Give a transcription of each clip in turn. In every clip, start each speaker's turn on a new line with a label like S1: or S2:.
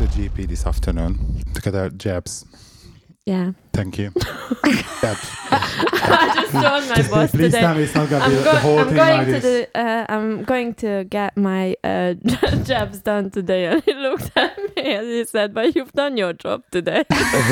S1: GP this afternoon to get our jabs.
S2: Yeah.
S1: Thank you. Jabs.
S2: I just told my boss
S1: Please
S2: today.
S1: tell me it's not going to be the whole thing like this.
S2: I'm going to get my jabs done today, and he looked at me and he said, "But you've done your job today."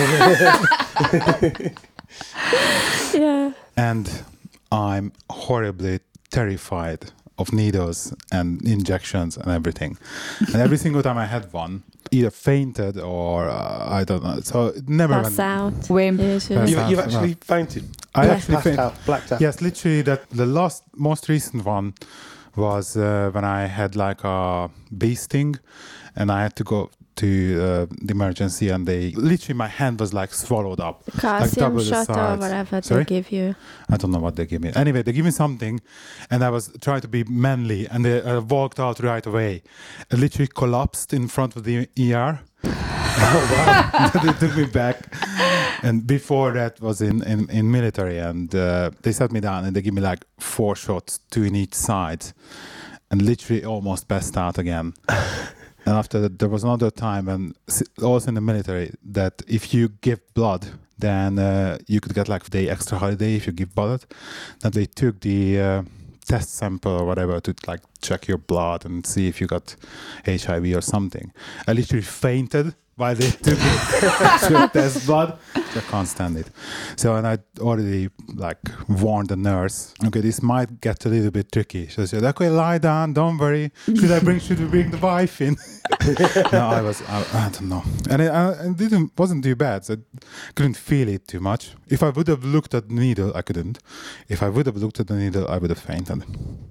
S2: Yeah.
S1: And I'm horribly terrified of needles and injections and everything. And every single time I had one, either fainted or I don't know. So it never
S2: Pass
S1: went.
S2: out.
S3: Wim.
S4: You've actually fainted.
S1: I actually
S4: Passed
S1: fainted.
S4: out, blacked out.
S1: Yes, literally. That the most recent one was when I had like a bee sting, and I had to go to the emergency, and they literally my hand was like swallowed up.
S2: Calcium
S1: double the
S2: shot or
S1: size.
S2: whatever
S1: Sorry?
S2: they give you.
S1: I don't know what they give me. Anyway, they give me something, and I was trying to be manly, and I walked out right away. I literally collapsed in front of the ER. Oh wow! They took me back, and before that was in military, and they sat me down and they give me like 4 shots, 2 in each side, and literally almost passed out again. And after that, there was another time, and also in the military, that if you give blood, then you could get like a day extra holiday if you give blood. That they took the test sample or whatever to like check your blood and see if you got HIV or something. I literally fainted while they took to test blood. I can't stand it. So, and I already like warned the nurse, okay, this might get a little bit tricky. She said, okay, lie down, don't worry. Should we bring the wife in? No, I don't know. And it wasn't too bad. So I couldn't feel it too much. If I would have looked at the needle, I couldn't. If I would have looked at the needle, I would have fainted.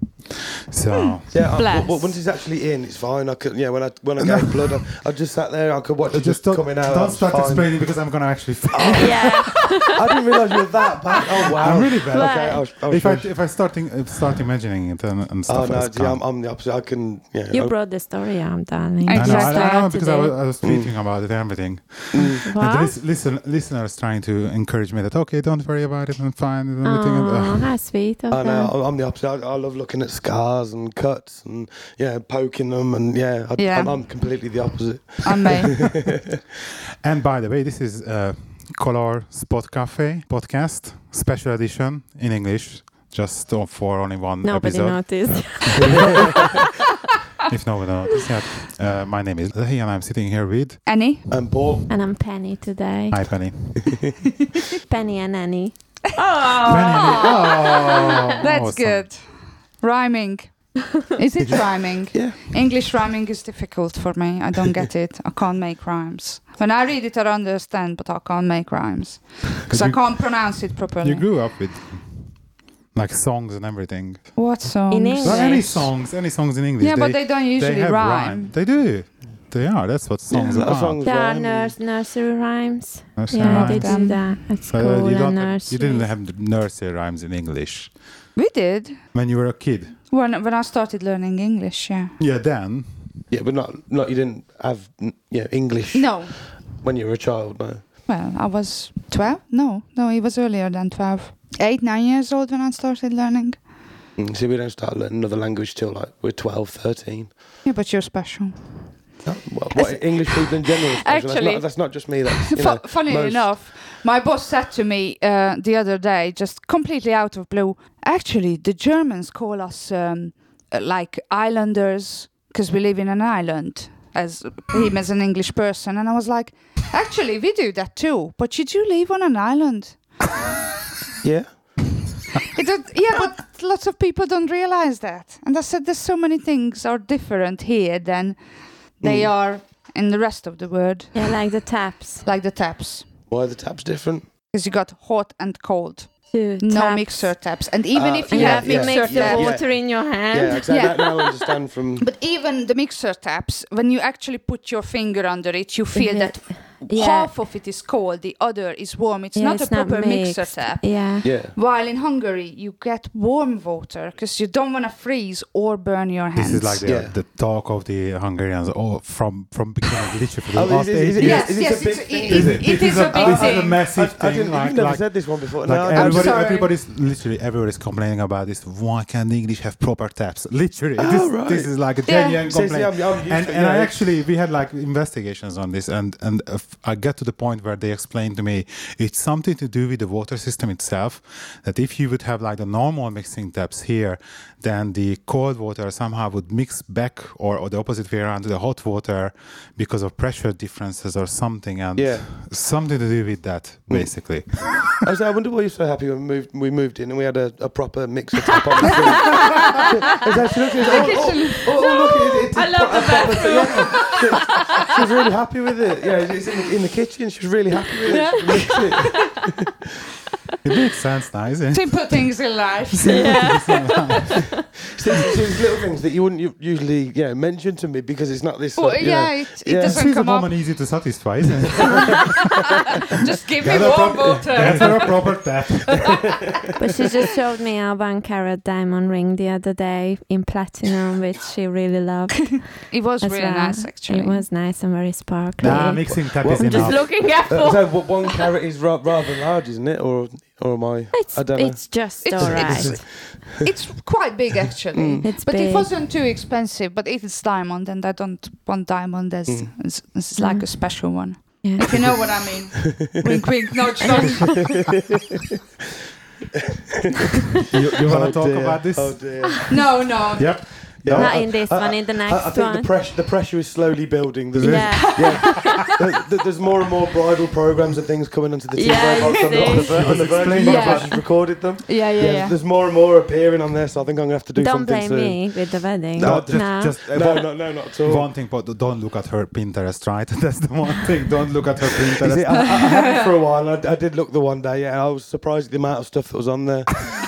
S1: So
S4: yeah, once it's actually in, it's fine. I could, when I gave blood, I just sat there. I could watch it just coming out.
S1: Don't start explaining because I'm gonna actually faint.
S2: Yeah.
S4: I didn't realise you were that bad. Oh wow,
S1: I'm really bad.
S4: Okay,
S1: if I start imagining it and stuff.
S4: I'm the opposite. I can. Yeah.
S2: You brought the story, darling.
S3: Exactly.
S1: I know because I was tweeting about it and everything.
S2: What?
S1: And the listeners trying to encourage me that okay, don't worry about it, I'm fine and everything.
S2: Oh, how sweet of
S4: I know.
S2: them.
S4: I'm the opposite. I love looking at scars and cuts and poking them and I'm completely the opposite.
S3: I'm me.
S1: And by the way, this is Color Spot Cafe podcast special edition in English, just for only one
S2: Nobody
S1: episode.
S2: noticed.
S1: If nobody noticed yet. My name is Lehi and I'm sitting here with
S3: Annie.
S4: And Paul.
S2: And I'm Penny today.
S1: Hi Penny.
S2: Penny and Annie.
S3: That's
S1: awesome.
S3: good. Rhyming. Is it rhyming?
S4: Yeah.
S3: English rhyming is difficult for me. I don't get it. I can't make rhymes. When I read it, I understand, but I can't make rhymes. Because I can't pronounce it properly.
S1: You grew up with like songs and everything.
S3: What songs?
S2: In English.
S1: Well, any songs in English.
S3: Yeah, but they don't usually
S1: have
S3: rhyme.
S1: They do. They are. That's what songs
S4: Yeah,
S1: are.
S4: songs
S2: There are
S4: rhyme.
S2: nursery rhymes.
S1: Nursery
S2: Yeah,
S1: rhymes.
S2: they do that at school and nursery.
S1: You didn't have the nursery rhymes in English
S3: We did.
S1: when you were a kid.
S3: When I started learning English, yeah.
S1: Yeah, then.
S4: Yeah, but not you didn't have English
S3: No.
S4: when you were a child, no.
S3: Well, I was 12. No, it was earlier than 12. 8, 9 years old when I started learning.
S4: See, we don't start learning another language till like we're 12, 13.
S3: Yeah, but you're special.
S4: No, what English people in general are special.
S3: Actually-
S4: that's not just me. That's
S3: Funny
S4: most-
S3: enough, my boss said to me the other day, just completely out of blue, actually, the Germans call us like islanders because we live in an island, as him as an English person. And I was like, actually, we do that too. But you do live on an island.
S4: Yeah.
S3: But lots of people don't realize that. And I said, there's so many things are different here than they are in the rest of the world.
S2: Yeah, like the taps.
S3: Like the taps.
S4: Why are the taps different?
S3: Because you got hot and cold.
S2: Two
S3: No
S2: taps.
S3: mixer taps. And even if you
S2: You
S4: Yeah,
S3: have
S2: have to
S3: mixer
S2: mix the
S3: taps.
S2: water in your hand.
S4: Yeah, exactly.
S3: Yeah.
S4: That now I understand from.
S3: But even the mixer taps, when you actually put your finger under it, you feel that half of it is cold, the other is warm. It's not a proper mixer tap.
S2: Yeah.
S3: While in Hungary, you get warm water because you don't want to freeze or burn your hands.
S1: This is like the talk of the Hungarians from beginning, literally for the last 8 years.
S3: Yes,
S4: Is
S3: yes,
S4: it a big thing?
S3: it is a big
S1: This is a
S3: thing.
S1: massive thing.
S4: You've never said this one before.
S1: Like
S3: I'm sorry.
S1: everybody's complaining about this. Why can't the English have proper taps? Literally,
S4: right.
S1: this is like a genuine complaint. And I actually, we had like investigations on this, and I got to the point where they explained to me it's something to do with the water system itself. That if you would have like the normal mixing taps here, then the cold water somehow would mix back, or the opposite way around, to the hot water because of pressure differences or something, and something to do with that basically.
S4: I wonder why you're so happy when we moved in and we had a proper mixer tap on the thing.
S2: I love the bathroom.
S4: She was really happy with it. Yeah, it's in the kitchen. She was really happy with it.
S1: It makes sense now, isn't it?
S3: Simple things in life.
S4: So there's little things that you wouldn't usually mention to me because it's not this.
S3: It doesn't
S1: She's a
S3: come up.
S1: woman easy to satisfy, isn't it?
S3: Just give me warm water.
S1: That's her proper tap.
S2: But she just showed me a 1 carat diamond ring the other day in platinum, which she really loved.
S3: It was
S2: as
S3: really
S2: well.
S3: nice, actually.
S2: It was nice and very sparkly.
S1: Nah, mixing tap is
S2: I'm just
S1: enough.
S2: looking at
S4: So 1 carat is rather large, isn't it? Or am I? I don't know.
S2: It's just all right.
S3: It's quite big, actually.
S2: It's
S3: but
S2: big.
S3: it wasn't too expensive. But if it's diamond, and I don't want diamond as it's like a special one.
S2: Yeah.
S3: If you know what I mean. Wink, wink, nudge, nudge.
S1: You want to talk about this?
S4: Oh dear.
S3: No.
S1: Yep.
S4: Yeah,
S2: Not in this one, in the next
S4: I think
S2: one.
S4: the pressure is slowly building. There's there's more and more bridal programs and things coming onto the TV on the Virgin
S3: Yeah.
S4: she's recorded them.
S3: Yeah.
S4: There's more and more appearing on there, so I think I'm gonna have to do
S2: Don't
S4: something
S2: blame
S4: soon.
S2: me with the wedding.
S1: No,
S2: No.
S4: No, not at all.
S1: One thing, but don't look at her Pinterest, right? That's the one thing. Don't look at her
S4: You
S1: Pinterest.
S4: see, I had it for a while. I did look the one day. Yeah, I was surprised at the amount of stuff that was on there.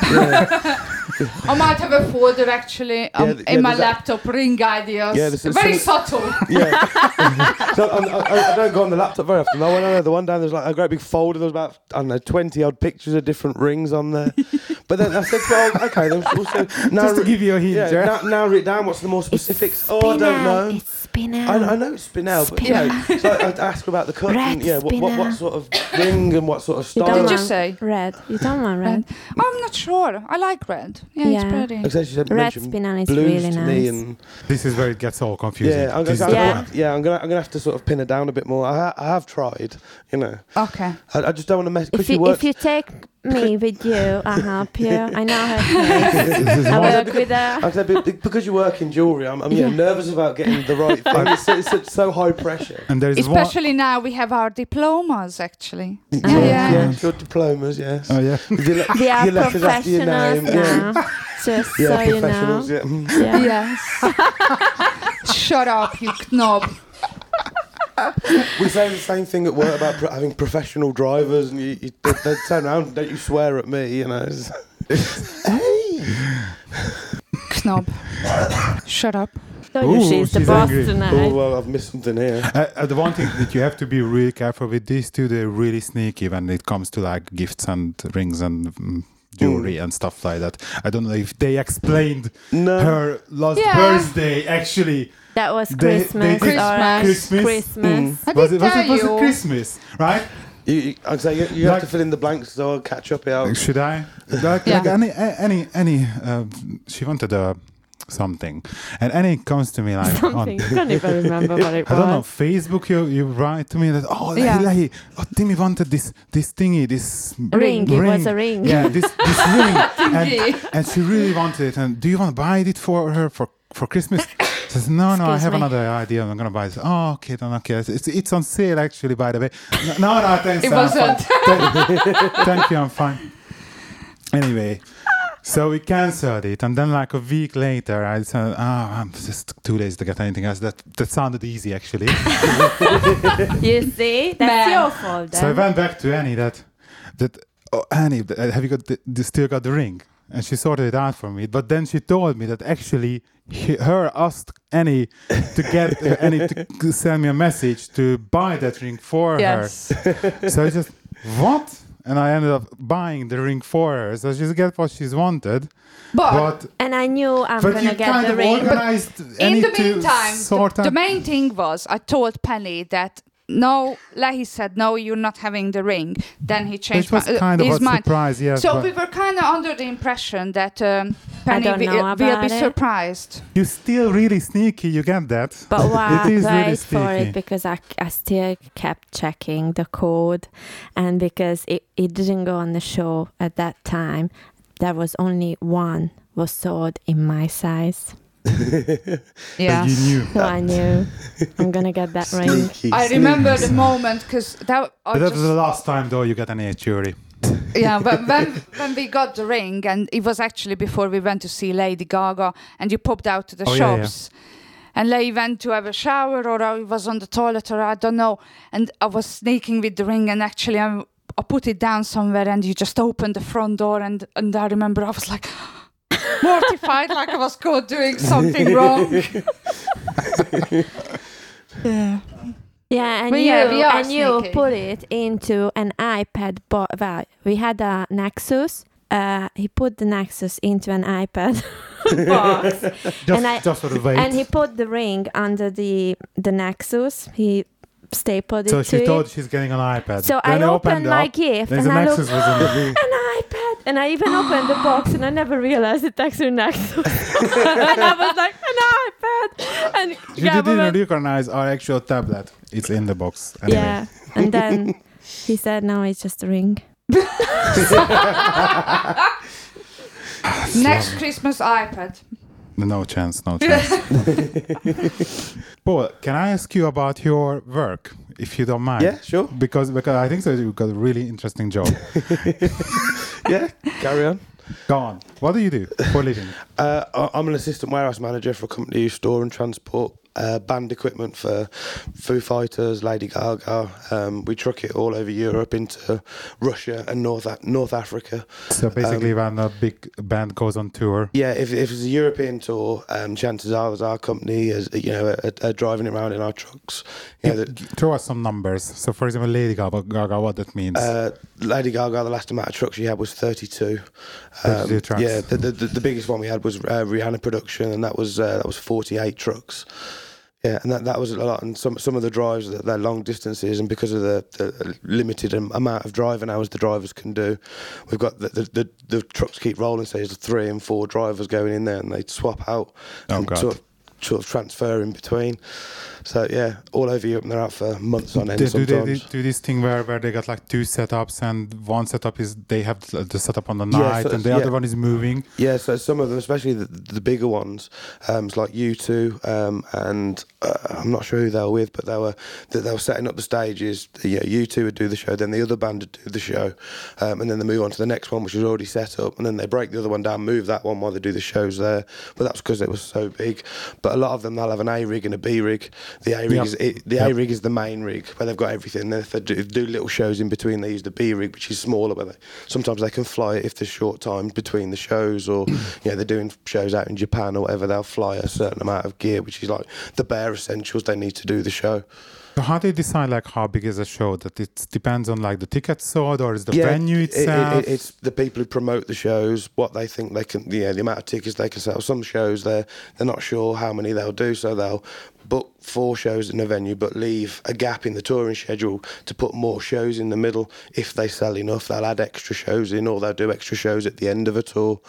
S3: I might have a folder actually in my laptop, ring ideas.
S4: Yeah, this is
S3: very subtle.
S4: Yeah. So I don't go on the laptop very often. I went on there the one day, there's like a great big folder. There was about, 20 odd pictures of different rings on there. But then I said, well, okay, then also now
S1: Just to give you a hint,
S4: now read down what's the more specifics. I don't know.
S2: It's Spinel.
S4: I know it's Spinel, but so I asked her about the cut and what sort of ring and what sort of
S2: You
S4: style.
S2: don't
S3: Did you
S2: want
S3: say?
S2: red? You don't want red.
S3: I'm not sure. I like red. Yeah, it's pretty.
S4: Like I said, she said
S2: Red
S4: mention
S2: Spinel is
S4: blues
S2: really
S4: to me
S2: nice.
S4: and
S1: This is where it gets all confusing.
S4: I'm gonna have to sort of pin her down a bit more. I have tried,
S3: Okay.
S4: I just don't want to mess because
S2: If you take me with you, I'll help you. I know her face. I work with her.
S4: I said, because you work in jewellery, I'm nervous about getting the right thing. It's so high pressure.
S1: And there is
S3: Especially now we have our diplomas actually.
S4: Yeah, your diplomas, yes.
S1: one. Oh yeah.
S2: We are
S4: your letters after your
S2: professionals
S4: name,
S2: now. Just
S4: Yeah,
S2: so you know.
S4: professionals, yeah.
S3: Yes. Shut up, you knob.
S4: We say the same thing at work about having professional drivers, and they turn around and don't you swear at me, Hey!
S3: Knob. Shut up.
S2: Told you
S1: Ooh,
S2: she's the
S1: she's
S2: boss
S1: angry.
S2: tonight.
S4: Oh, well, I've missed something here.
S1: The one thing that you have to be really careful with these two, they're really sneaky when it comes to like gifts and rings and jewelry and stuff like that. I don't know if they explained her last birthday actually.
S2: That was
S1: They
S2: Christmas.
S1: did
S2: alright.
S1: Christmas.
S2: Christmas.
S3: I
S1: Was
S3: did
S1: it
S3: tell you.
S1: Christmas, right?
S4: I'd say you have to fill in the blanks, so I'll catch up here.
S1: Should I? Like any she wanted something, and Annie comes to me like
S2: Something. I can't even remember what it was.
S1: I don't know, Facebook, you write to me that, Timmy wanted this thingy, this
S2: ring. It was a ring.
S1: Yeah, this ring. and she really wanted it. And do you want to buy it for her for Christmas? Says, no, I have another idea. I'm going to buy this. Oh, okay, then okay. It's on sale, actually, by the way. No, thanks.
S3: It wasn't.
S1: Thank you, I'm fine. Anyway, so we cancelled it. And then like a week later, I said, I'm just too lazy to get anything else. That sounded easy, actually.
S2: You see? That's your fault then.
S1: So I went back to Annie Annie, have you still got the ring? and she sorted it out for me. But then she told me that actually her asked Annie to get Annie to send me a message to buy that ring for
S3: Yes.
S1: her. So I just, what? And I ended up buying the ring for her. So she's get what she's wanted.
S3: But
S2: And I knew I'm
S1: But
S2: gonna
S1: you
S2: get
S1: kind
S2: the
S1: of
S2: ring.
S1: organized
S3: in
S1: Annie
S3: the
S1: to
S3: meantime,
S1: sort
S3: the
S1: out.
S3: main thing was I told Penny that no, Lehi said, no, you're not having the ring. Then he changed
S1: Which was kind of
S3: his
S1: a
S3: mind.
S1: surprise, yes.
S3: So
S1: but
S3: we were kind of under the impression that Penny
S2: don't know
S3: will be
S2: about it.
S3: surprised.
S1: you're still really sneaky, you get that.
S2: But why
S1: It is really
S2: wait for
S1: sneaky.
S2: it because I still kept checking the code, and because it didn't go on the show at that time, there was only one was sold in my size.
S3: Yeah.
S1: But you knew.
S2: So I knew I'm gonna get that ring.
S3: I remember the moment because that I
S1: But that was the
S3: just,
S1: last time, though, you got an jury.
S3: yeah, but when we got the ring, and it was actually before we went to see Lady Gaga, and you popped out to the
S1: Oh, yeah,
S3: shops. And Leigh went to have a shower, or I was on the toilet, or I don't know. And I was sneaking with the ring, and actually I put it down somewhere, and you just opened the front door, and I remember I was like mortified, like I was caught doing something wrong. Yeah.
S2: Yeah, and
S3: But
S2: you
S3: yeah, we are
S2: and you
S3: sneaky.
S2: put it into an iPad. Well, we had a Nexus. He put the Nexus into an iPad box,
S1: Just for the weight.
S2: and he put the ring under the Nexus. He stapled it
S1: So
S2: to
S1: she thought
S2: it.
S1: she's getting an iPad.
S2: So
S1: Then
S2: I
S1: I
S2: opened my
S1: up,
S2: gift
S1: there's
S2: and
S1: a
S2: I
S1: Nexus
S2: looked,
S1: was in the room.
S2: an iPad, and I even opened the box, and I never realized it's actually Nexus. And I was like, an iPad, and
S1: You
S2: Gabby
S1: didn't
S2: went,
S1: recognize our actual tablet. It's in the box. Anyway.
S2: yeah, and then he said, no, it's just a ring.
S3: Next Christmas iPad.
S1: No chance, no chance. Paul, can I ask you about your work, if you don't mind?
S4: Yeah, sure.
S1: Because I think so you've got a really interesting job.
S4: Yeah, carry on.
S1: Go on. What do you do for a living?
S4: I'm an assistant warehouse manager for a company who store and transport band equipment for Foo Fighters, Lady Gaga. We truck it all over Europe into Russia and North Africa.
S1: So basically, when a big band goes on tour,
S4: Yeah, if it's a European tour, chances are there's our company are driving around in our trucks. You know,
S1: throw us some numbers. So, for example, Lady Gaga, what that means?
S4: Lady Gaga, the last amount of trucks she had was 32.
S1: 32 trucks.
S4: Yeah, the biggest one we had was Rihanna production, and that was 48 trucks. Yeah, and that was a lot. And some of the drives, they're long distances, and because of the limited amount of driving hours the drivers can do, we've got the trucks keep rolling. So there's 3 and 4 drivers going in there, and they swap out and
S1: God.
S4: sort of transfer in between. So yeah, all over Europe, and they're out for months on end
S1: do
S4: sometimes.
S1: they do this thing where they got like 2 setups, and one setup is they have the setup on the night,
S4: so-
S1: and the
S4: yeah.
S1: other one is moving.
S4: Yeah, so some of them, especially the bigger ones, it's like U2, and I'm not sure who they were with, but they were setting up the stages. U2 would do the show, then the other band would do the show, and then they move on to the next one, which is already set up, and then they break the other one down, move that one while they do the shows there. But that's because it was so big. But a lot of them, they'll have an A rig and a B rig. The A rig
S1: Yep.
S4: A rig is the main rig where they've got everything. Then if they do little shows in between, they use the B rig, which is smaller, but sometimes they can fly it if there's short time between the shows, or they're doing shows out in Japan or whatever. They'll fly a certain amount of gear, which is like the bare essentials they need to do the show.
S1: So how do you decide like how big is a show? That it depends on like the tickets sold, or is the venue itself?
S4: It's the people who promote the shows, what they think they can, the amount of tickets they can sell. Some shows they're not sure how many they'll do, so they'll book 4 shows in a venue but leave a gap in the touring schedule to put more shows in the middle. If they sell enough, they'll add extra shows in, or they'll do extra shows at the end of a tour.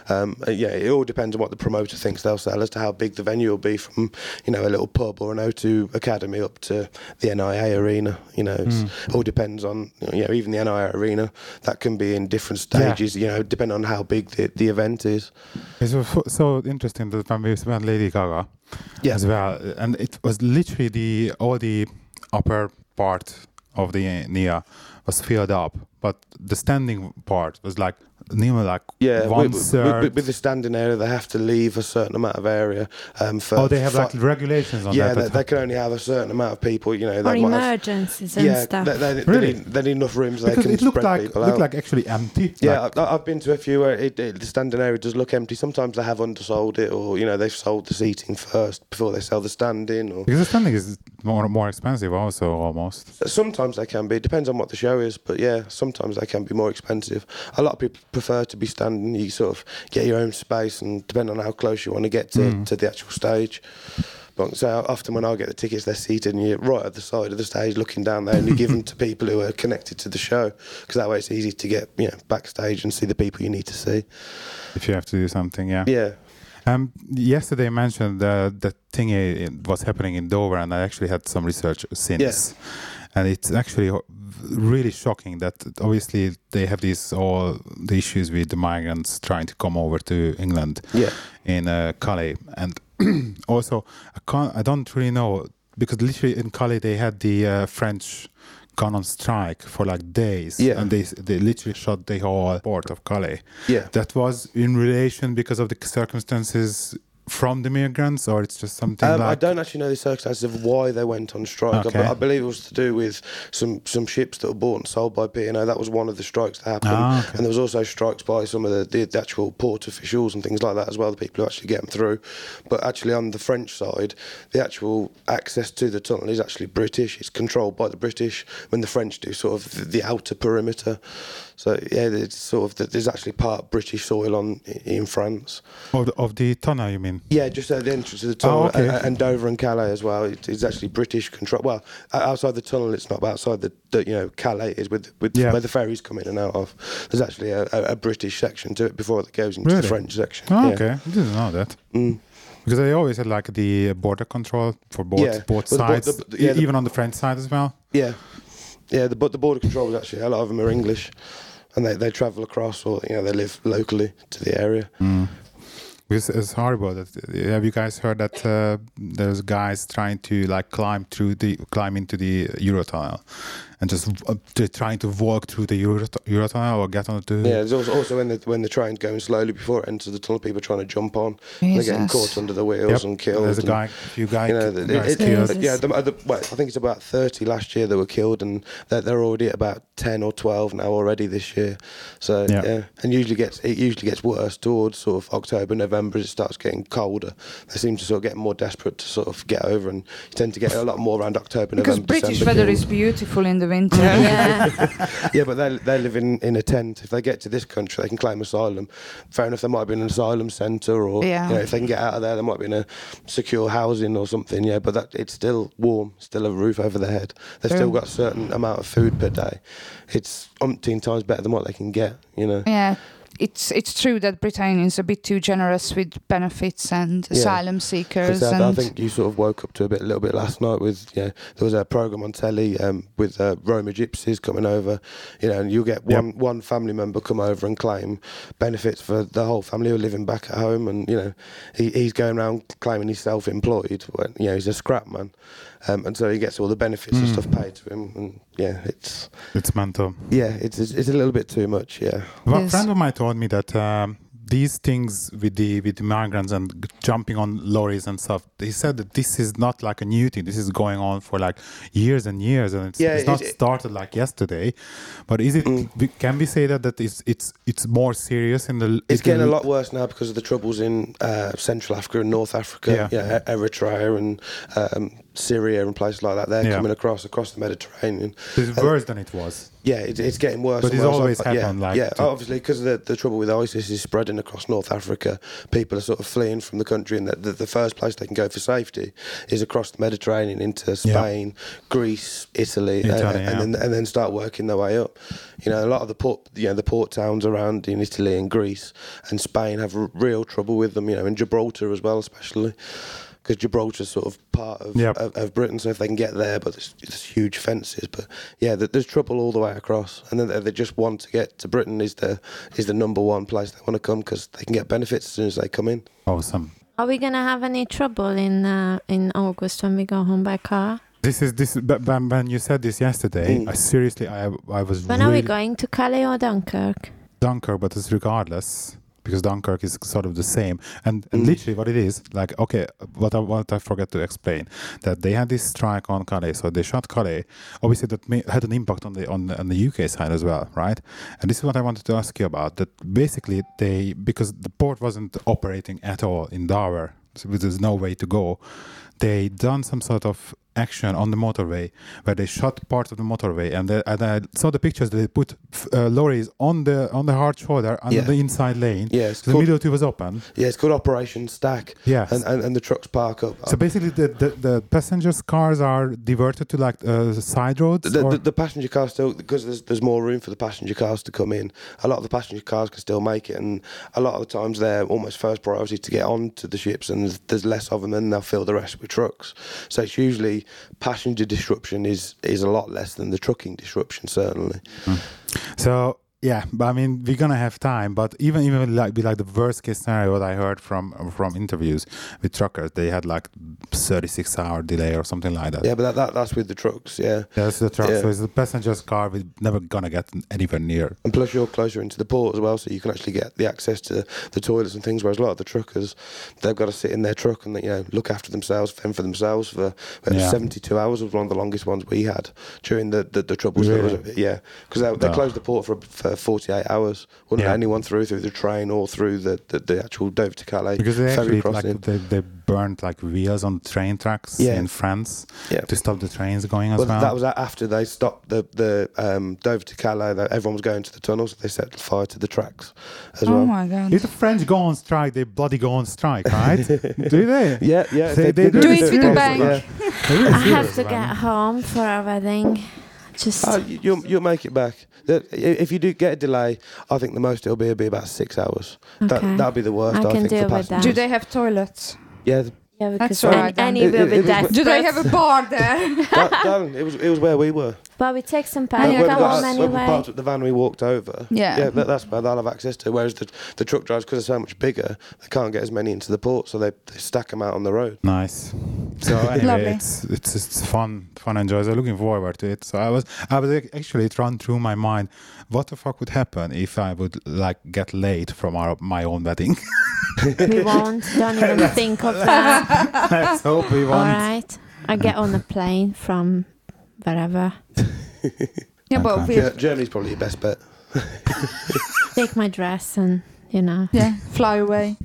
S4: It all depends on what the promoter thinks they'll sell as to how big the venue will be, from a little pub or an O2 Academy up to the NIA Arena. It all depends on even the NIA Arena, that can be in different stages, depending on how big the event is.
S1: It's so interesting that when we went Lady Gaga as well, and it was literally all the upper part of the NIA was filled up, but the standing part was like like
S4: Yeah,
S1: one
S4: with,
S1: third.
S4: with the standing area, they have to leave a certain amount of area. For
S1: They have like regulations on
S4: yeah,
S1: that.
S4: they can only have a certain amount of people. You know,
S2: Or
S4: they might have,
S2: emergencies and
S4: yeah,
S2: stuff.
S1: Really?
S4: they need enough rooms they
S1: Because
S4: can
S1: it looked
S4: spread
S1: like
S4: people out.
S1: actually empty.
S4: Yeah,
S1: Like,
S4: I've been to a few where the standing area does look empty. Sometimes they have undersold it, or you know they've sold the seating first before they sell the standing. Or
S1: because the standing is more expensive also almost.
S4: sometimes they can be. It depends on what the show is, but yeah, sometimes they can be more expensive. A lot of people prefer to be standing. You sort of get your own space, and depending on how close you want to get to the actual stage. But so often when I get the tickets, they're seated and you're right at the side of the stage looking down there, and you give them to people who are connected to the show, because that way it's easy to get backstage and see the people you need to see.
S1: If you have to do something, yeah.
S4: Yeah.
S1: Yesterday I mentioned the thing was happening in Dover, and I actually had some research since. And it's actually really shocking that obviously they have all the issues with the migrants trying to come over to England in Calais. And also, I don't really know, because literally in Calais they had the French gone on strike for like days, and they literally shut the whole port of Calais.
S4: Yeah.
S1: That was in relation because of the circumstances from the migrants, or it's just something like...
S4: I don't actually know the circumstances of why they went on strike.
S1: Okay.
S4: I believe it was to do with some ships that were bought and sold by P&O. That was one of the strikes that happened.
S1: Okay.
S4: And there was also strikes by some of the actual port officials and things like that as well, the people who actually get them through. But actually on the French side, the actual access to the tunnel is actually British. It's controlled by the British, when the French do sort of the outer perimeter. So yeah, it's sort of there's actually part British soil in France.
S1: Of the tunnel, you mean?
S4: Yeah, just at the entrance to the tunnel,
S1: okay.
S4: and Dover and Calais as well. It's actually British control. Well, outside the tunnel, it's not, but outside the Calais is with where the ferries come in and out of. There's actually a British section to it before it goes into the French section.
S1: Oh,
S4: yeah.
S1: okay, I didn't know that.
S4: Mm.
S1: Because they always had like the border control for both sides, even on the French side as well.
S4: Yeah, yeah. The border controls actually, a lot of them are English, and they travel across, or they live locally to the area.
S1: Mm. It's horrible. Have you guys heard that there's guys trying to like climb into the Eurotunnel, and just trying to walk through the Eurotunnel or get onto?
S4: Yeah, there's also when the train's going slowly before it enters the tunnel, people are trying to jump on.
S3: Jesus.
S4: They're getting caught under the wheels and killed.
S1: There's a few guys killed.
S4: Yeah, I think it's about 30 last year that were killed, and they're already at about 10 or 12 now already this year. So yeah, and it usually gets worse towards sort of October, November, as it starts getting colder. They seem to sort of get more desperate to sort of get over, and you tend to get a lot more around October,
S3: because
S4: November.
S3: British
S4: December
S3: weather
S4: killed.
S3: is beautiful in the winter.
S4: Yeah, but they live in a tent. If they get to this country, they can claim asylum. Fair enough, they might be in an asylum centre, or if they can get out of there, they might be in a secure housing or something. Yeah, but it's still warm, still a roof over their head. They've still got a certain amount of food per day. It's umpteen times better than what they can get.
S3: Yeah. It's true that Britain is a bit too generous with benefits and asylum seekers.
S4: I think you sort of woke up to a little bit last night with there was a programme on telly with Roma gypsies coming over, and you get one family member come over and claim benefits for the whole family who are living back at home, and he's going around claiming he's self-employed when he's a scrap man. And so he gets all the benefits and stuff paid to him, and it's
S1: mental.
S4: Yeah, it's a little bit too much. Yeah.
S1: Well, a friend of mine told me that these things with the migrants and jumping on lorries and stuff, he said that this is not like a new thing. This is going on for like years and years, and it's not started like yesterday. But is it? Can we say that it's more serious in the?
S4: It's getting a lot worse now because of the troubles in Central Africa and North Africa, Eritrea and Syria and places like that. They're coming across the Mediterranean.
S1: It's worse than it was.
S4: Yeah, it's getting worse.
S1: But it's always happened.
S4: Obviously, because the trouble with ISIS is spreading across North Africa. People are sort of fleeing from the country, and the first place they can go for safety is across the Mediterranean into Spain, Greece, Italy, and then start working their way up. A lot of the port towns around in Italy and Greece and Spain have real trouble with them. In Gibraltar as well, especially. Because Gibraltar's sort of part of Britain, so if they can get there, but there's huge fences. But there's trouble all the way across, and then they just want to get to Britain is the number one place they want to come, because they can get benefits as soon as they come in.
S1: Awesome.
S2: Are we gonna have any trouble in August when we go home by car?
S1: This. When you said this yesterday, I seriously, I was.
S2: When are we going to Calais or Dunkirk?
S1: Dunkirk, but it's regardless because Dunkirk is sort of the same. And literally what it is, like, okay, what I forgot to explain, that they had this strike on Calais, so they shot Calais. Obviously, that had an impact on the UK side as well, right? And this is what I wanted to ask you about. That basically because the port wasn't operating at all in Dover, so there's no way to go. They done some sort of action on the motorway where they shut part of the motorway, and I saw the pictures that they put lorries on the hard shoulder on the inside lane.
S4: Yeah,
S1: so the middle two was open.
S4: Yeah, it's called Operation Stack.
S1: Yes.
S4: And the trucks park up.
S1: So basically the passengers' cars are diverted to like side roads?
S4: The passenger cars still, because there's more room for the passenger cars to come in, a lot of the passenger cars can still make it, and a lot of the times they're almost first priority to get onto the ships, and there's less of them, and they'll fill the rest with trucks. So it's usually passenger disruption is a lot less than the trucking disruption, certainly.
S1: So yeah, but I mean, we're gonna have time. But even like the worst case scenario, what I heard from interviews with truckers, they had like 36-hour delay or something like that.
S4: Yeah, but that's with the trucks. Yeah,
S1: that's the truck.
S4: Yeah.
S1: So it's the passenger's car. We're never gonna get anywhere near.
S4: And plus, you're closer into the port as well, so you can actually get the access to the toilets and things. Whereas a lot of the truckers, they've got to sit in their truck and look after themselves, fend for themselves for 72 hours was one of the longest ones we had during the troubles.
S1: Really?
S4: Because they closed the port for 48 hours. Wouldn't let anyone through the train or through the actual Dover to Calais
S1: because they
S4: ferry
S1: actually
S4: crossing.
S1: they burned like wheels on train tracks in France to stop the trains going as well.
S4: That was after they stopped the Dover to Calais. Everyone was going to the tunnels. So they set fire to the tracks as well.
S3: Oh my God!
S1: If the French go on strike, they bloody go on strike, right? Do they?
S4: Yeah.
S1: They do
S3: it with the bank.
S2: I have to get home for a wedding. Just
S4: you'll make it back. If you do get a delay, I think the most it'll be about 6 hours.
S2: Okay.
S4: That'll be the worst.
S2: I can
S4: think
S2: deal
S4: for
S2: with that.
S3: Do they have toilets?
S4: Yeah,
S2: yeah,
S3: That's
S2: because
S3: all right then.
S2: Annie will be
S4: It was-
S2: desperate.
S3: Do they have a bar there?
S4: it was where we were.
S2: But we take some
S3: Yeah,
S2: time
S3: you
S2: to
S3: come
S2: come
S3: home
S2: home
S4: When we
S2: anyway.
S4: parked at the van, we walked over.
S3: Yeah.
S4: That's where they'll have access to. Whereas the truck drivers, because they're so much bigger, they can't get as many into the port, so they stack them out on the road.
S1: Nice. So anyway,
S3: Lovely.
S1: it's fun and joyous. I'm looking forward to it. So I was actually run through my mind, what the fuck would happen if I would like get late from my own wedding?
S2: We won't. Don't even think of that.
S1: Let's hope we
S2: All
S1: won't.
S2: right. I get on a plane from wherever.
S3: Yeah, but
S1: Okay.
S4: Germany's probably your best bet.
S2: Take my dress and
S3: fly away.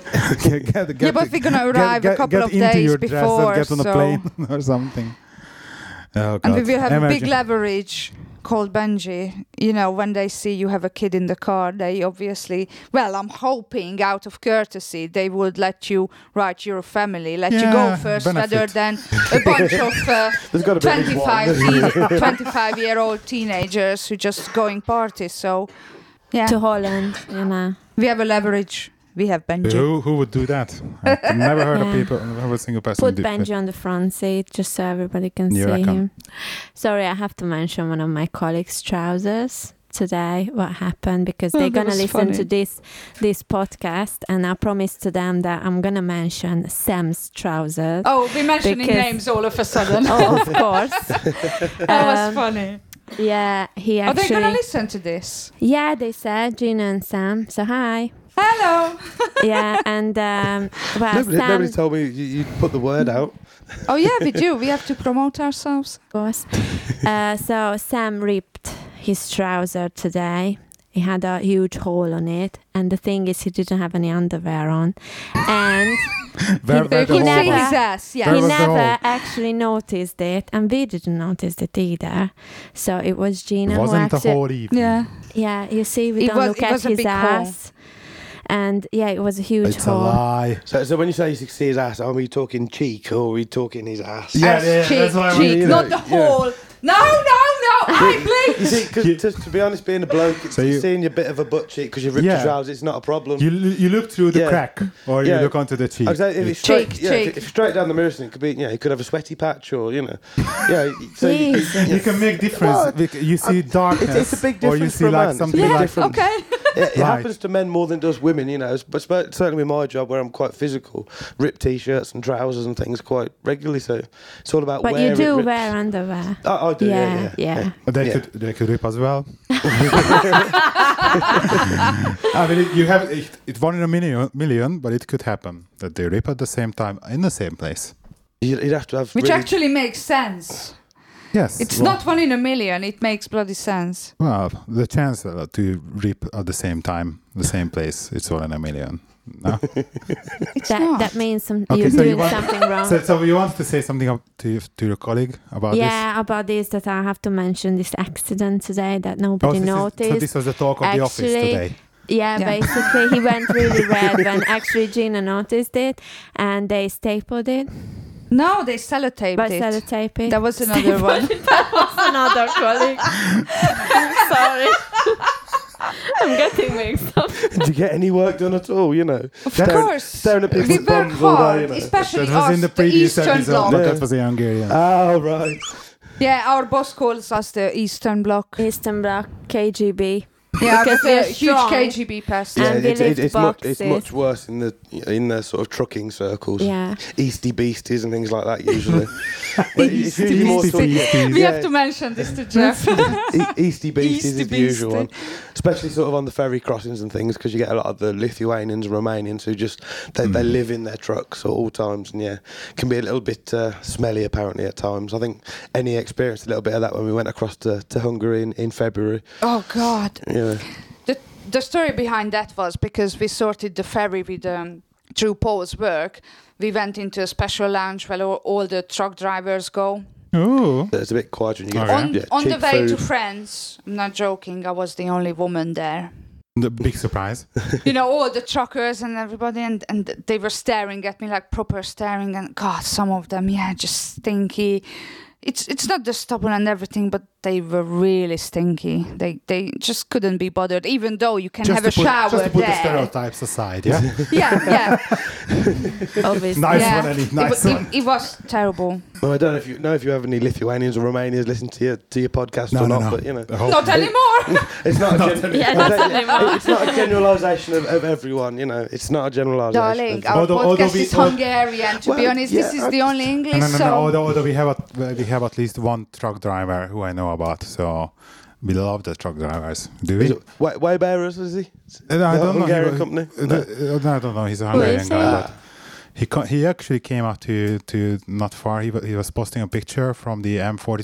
S1: Get
S3: But we're gonna arrive a couple of
S1: into
S3: days
S1: your dress and
S3: before,
S1: get on a
S3: so
S1: plane or something. Oh,
S3: and we
S1: God.
S3: will have a big
S1: Imagine.
S3: leverage called Benji. You know, when they see you have a kid in the car, they obviously, well, I'm hoping out of courtesy, they would let you write your family, let you go
S1: Yeah,
S3: first
S1: benefit.
S3: rather than a bunch of
S4: There's got to be at least one.
S3: 25-year-old teenagers who just going parties. So, yeah,
S2: to Holland,
S3: we have a leverage. We have Benji.
S1: Who would do that? I've never heard of
S2: Yeah.
S1: people, never a single person
S2: Put
S1: do
S2: Benji on the front seat just so everybody can
S1: You
S2: see
S1: reckon?
S2: him. Sorry, I have to mention one of my colleagues' trousers today. What happened? Because they're
S3: that
S2: gonna
S3: was
S2: listen
S3: funny.
S2: to this podcast, and I promised to them that I'm gonna mention Sam's trousers.
S3: Oh, we're mentioning
S2: Because-
S3: names all of a sudden.
S2: Oh, of course.
S3: That was funny.
S2: Yeah, he
S3: Are they
S2: actually.
S3: going to listen to this?
S2: Yeah, they said Gina and Sam. So hi.
S3: Hello.
S2: Yeah, and well, Sam,
S4: Nobody told me you put the word out.
S3: Oh, yeah, we do. We have to promote ourselves.
S2: of course. So Sam ripped his trouser today. He had a huge hole on it, and the thing is, he didn't have any underwear on, and
S1: Where
S3: You
S1: the
S3: could
S1: hole
S3: see
S2: never-
S1: was.
S3: his ass, yeah.
S1: Where
S2: he
S1: was the
S2: never
S1: hole?
S2: actually noticed it, and we didn't notice it either. So it was Gina
S1: It
S2: who
S1: wasn't the
S2: actually.
S1: whole evening.
S3: Yeah.
S2: Yeah, you see, we
S3: It
S2: don't
S3: was-
S2: look
S3: it
S2: at
S3: was a
S2: his
S3: big hole.
S2: ass, and yeah, it was a huge
S1: It's a
S2: hole.
S1: lie.
S4: So when you say you see his ass, are we talking cheek or are we talking his ass?
S1: Yeah,
S3: Ass,
S1: yeah,
S3: cheek,
S1: that's what I
S3: cheek,
S1: mean, you
S3: not
S1: know,
S3: the hole. No. Hey,
S4: You
S3: please.
S4: see, because to be honest, being a bloke,
S1: So you-
S4: seeing a bit of a butt cheek because you've ripped
S1: Yeah.
S4: your trousers, it's not a problem.
S1: You look through the
S4: Yeah.
S1: crack, or you
S4: Yeah.
S1: look onto the cheek.
S4: I was like, if it's straight,
S3: Cheek,
S4: yeah,
S3: cheek.
S4: if it's straight down the mirror, it could be, he could have a sweaty patch or, yeah. So
S2: Jesus.
S1: You can make difference.
S4: Well,
S1: You see darkness,
S4: it's a big
S1: or you
S4: difference
S1: see
S4: for a
S1: like
S4: man.
S1: something
S3: Yeah,
S1: like
S4: different.
S3: okay.
S4: It
S1: Right.
S4: happens to men more than it does women, you know. But certainly with my job, where I'm quite physical, rip t-shirts and trousers and things quite regularly. So it's all about.
S2: But
S4: where
S2: you do
S4: it rips.
S2: wear underwear.
S4: I do. Yeah.
S1: They
S4: Yeah.
S1: could rip as well. I mean, you have it 1 in a million, but it could happen that they rip at the same time in the same place.
S4: You'd have to have.
S3: Which
S4: really,
S3: actually makes sense.
S1: Yes.
S3: It's not 1 in a million. It makes bloody sense.
S1: Well, the chance to rip at the same time, the same place, it's 1 in a million. No?
S2: That means
S1: Okay,
S2: you're
S1: so
S2: doing
S1: you want-
S2: something wrong.
S1: So you want to say something to your colleague about this?
S2: Yeah, about this, that I have to mention this accident today that nobody noticed.
S1: So this was the talk of the office
S2: Actually,
S1: today.
S2: Yeah,
S3: Yeah.
S2: basically he went really red when actually Gina noticed it, and they stapled it.
S3: No, they sellotaped
S2: But
S3: it.
S2: sellotape it.
S3: That was another one.
S2: That was another colleague. Sorry. I'm getting mixed up.
S4: Did you get any work done at all? You know,
S3: Of course.
S4: staring at
S3: We
S4: people's
S3: work
S4: bums all day.
S3: hard,
S4: You know.
S3: especially
S1: That was
S3: us,
S1: in the
S3: the
S1: previous
S3: Eastern
S1: episode,
S3: Bloc.
S1: but
S4: Yeah.
S1: that was the Hungarian.
S4: Oh right.
S3: Yeah, our boss calls us the Eastern Bloc.
S2: Eastern Bloc, KGB.
S3: Yeah,
S2: Because
S3: because we're
S2: they're
S3: huge
S2: strong.
S3: KGB pest.
S2: Yeah. And we lift
S4: it's
S2: boxes.
S4: much worse in the sort of trucking circles.
S2: Yeah.
S4: Easty beasties and things like that usually. But it's usually more sort of,
S3: We have to mention this to Jeff.
S4: Easty beasties
S3: Easty
S4: is the usual
S3: beastie.
S4: one, especially sort of on the ferry crossings and things, because you get a lot of the Lithuanians and Romanians who just they live in their trucks at all times, and yeah, can be a little bit smelly apparently at times. I think Annie experienced a little bit of that when we went across to Hungary in February.
S3: Oh, God.
S4: Yeah.
S3: The story behind that was because we sorted the ferry with through Paul's work. We went into a special lounge where all the truck drivers go.
S1: Oh.
S4: It's a bit quiet when you get
S1: Okay.
S3: On the
S4: cheap
S3: way to
S4: food.
S3: France, I'm not joking, I was the only woman there.
S1: The big surprise.
S3: You know, all the truckers and everybody, and they were staring at me like proper staring. And God, some of them, just stinky. It's not the stubble and everything, but they were really stinky. They just couldn't be bothered, even though you can have a shower
S1: just to put the
S3: there.
S1: stereotypes aside, yeah?
S3: Yeah.
S2: Obviously.
S1: Nice
S3: Yeah.
S1: one, Annie. Nice one.
S3: It was terrible.
S4: Well, I don't know if you have any Lithuanians or Romanians listen to your podcast or not, but you know,
S1: The whole-
S3: Not anymore.
S4: it's not.
S2: Yeah, not anymore.
S4: It's not a generalisation of everyone. You know, it's not a generalisation.
S3: Darling,
S4: of-
S3: our
S1: Although
S3: podcast
S1: we-
S3: is Hungarian. To be
S4: Well,
S3: honest,
S4: yeah,
S3: this is the only English.
S1: No,
S3: so
S1: although we have at least one truck driver who I know about, so we love the truck drivers. Do we?
S4: Is it way bearers, is he?
S1: I
S4: The
S1: don't know.
S4: Hungarian company? No.
S1: I don't know. He's a
S2: Who
S1: Hungarian
S2: is
S1: guy,
S2: he?
S1: but he actually came out to not far. He was posting a picture from the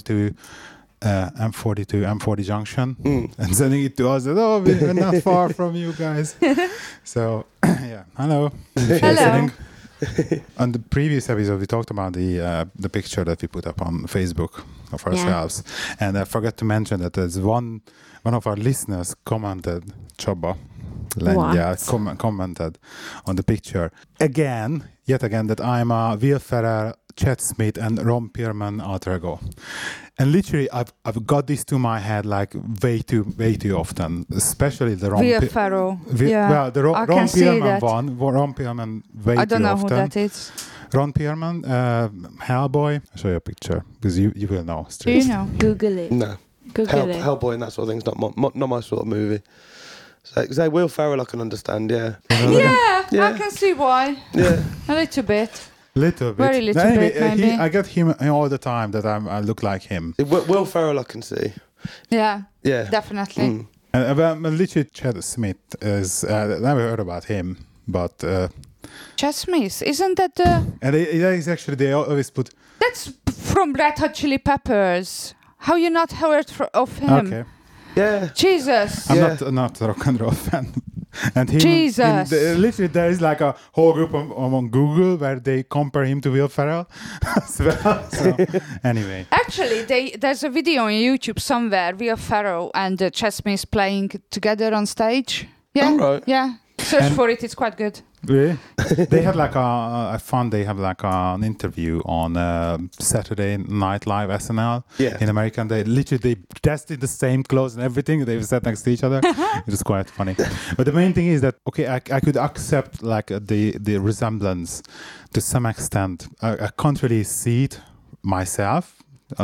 S1: M40 junction and sending it to us. And, we're not far from you guys. So yeah, hello. If you're
S3: Hello.
S1: listening. On the previous episode, we talked about the picture that we put up on Facebook of ourselves, and I forgot to mention that there's one of our listeners commented, Csaba Lengyel, commented on the picture yet again, that I'm a Will Ferrell, Chad Smith, and Ron Perlman alter ego. And literally, I've got this to my head like way too often, especially the Ron.
S3: Will Ferrell.
S1: Well, the
S3: I
S1: Ron
S3: can see
S1: Perlman
S3: that.
S1: one. Ron Perlman way
S3: I don't
S1: too
S3: know
S1: often.
S3: who that is.
S1: Ron Perlman, Hellboy. I'll show you a picture because you will know.
S3: Do
S1: Straight.
S3: you know?
S2: Google it.
S4: No.
S2: Google it.
S4: Hellboy and that sort of thing's not my sort of movie. So Will Ferrell I can understand, yeah.
S3: Yeah,
S4: Yeah.
S3: I can see why.
S4: Yeah.
S3: A little bit.
S1: Little bit.
S3: Very little
S1: Anyway,
S3: bit, maybe.
S1: I get him all the time that I look like him.
S4: Will Ferrell I can see.
S3: Yeah,
S4: Yeah.
S3: definitely.
S4: Mm.
S1: And literally, Chad Smith is. Never heard about him, but
S3: Chad Smith, isn't that the...
S1: and that is actually they always put.
S3: That's from Red Hot Chili Peppers. How you not heard of him?
S1: Okay,
S4: Yeah.
S3: Jesus.
S1: I'm
S4: Yeah.
S1: not a rock and roll fan. And him,
S3: Jesus.
S1: literally, there is like a whole group on Google where they compare him to Will Ferrell as well. So, anyway,
S3: Actually, there's a video on YouTube somewhere, Will Ferrell and Chad Smith playing together on stage. Yeah,
S4: All right.
S3: yeah. Search
S1: And-
S3: for it, it's quite good.
S1: really, they had like I found they have like an interview on Saturday Night Live SNL
S4: Yeah.
S1: in America. And they literally dressed in the same clothes and everything. They sat next to each other. It was quite funny. But the main thing is that I could accept like the resemblance to some extent. I can't really see it myself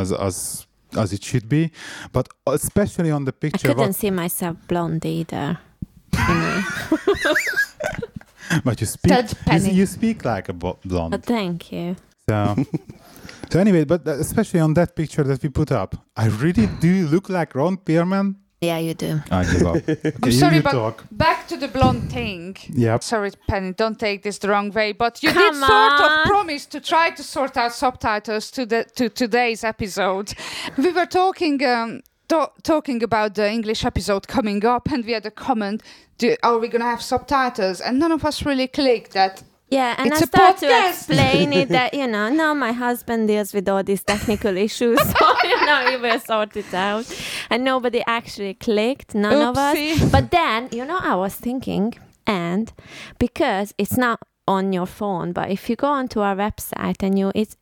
S1: as it should be, but especially on the
S2: I
S1: picture.
S2: couldn't see myself blonde either. you know.
S1: But you speak,
S3: Judge Penny.
S1: you speak like a blonde.
S2: But thank you.
S1: So, so anyway, but especially on that picture that we put up, I really do look like Ron Perlman.
S2: Yeah, you do.
S1: I give up. Okay,
S3: I'm sorry,
S1: you
S3: but
S1: talk.
S3: back to the blonde thing.
S1: Yep.
S3: Sorry, Penny, don't take this the wrong way, but you
S2: Come
S3: did sort of
S2: on.
S3: promise to try to sort out subtitles to today's episode. We were talking talking about the English episode coming up, and we had a comment: "Are we gonna have subtitles?" And none of us really clicked that.
S2: Yeah, and
S3: It's
S2: I
S3: a
S2: start to
S3: podcast.
S2: explain it that, you know, now my husband deals with all these technical issues, so, you know, he will sort it out. And nobody actually clicked, none of us.
S3: Oopsie.
S2: But then, you know, I was thinking, and because it's not on your phone, but if you go onto our website and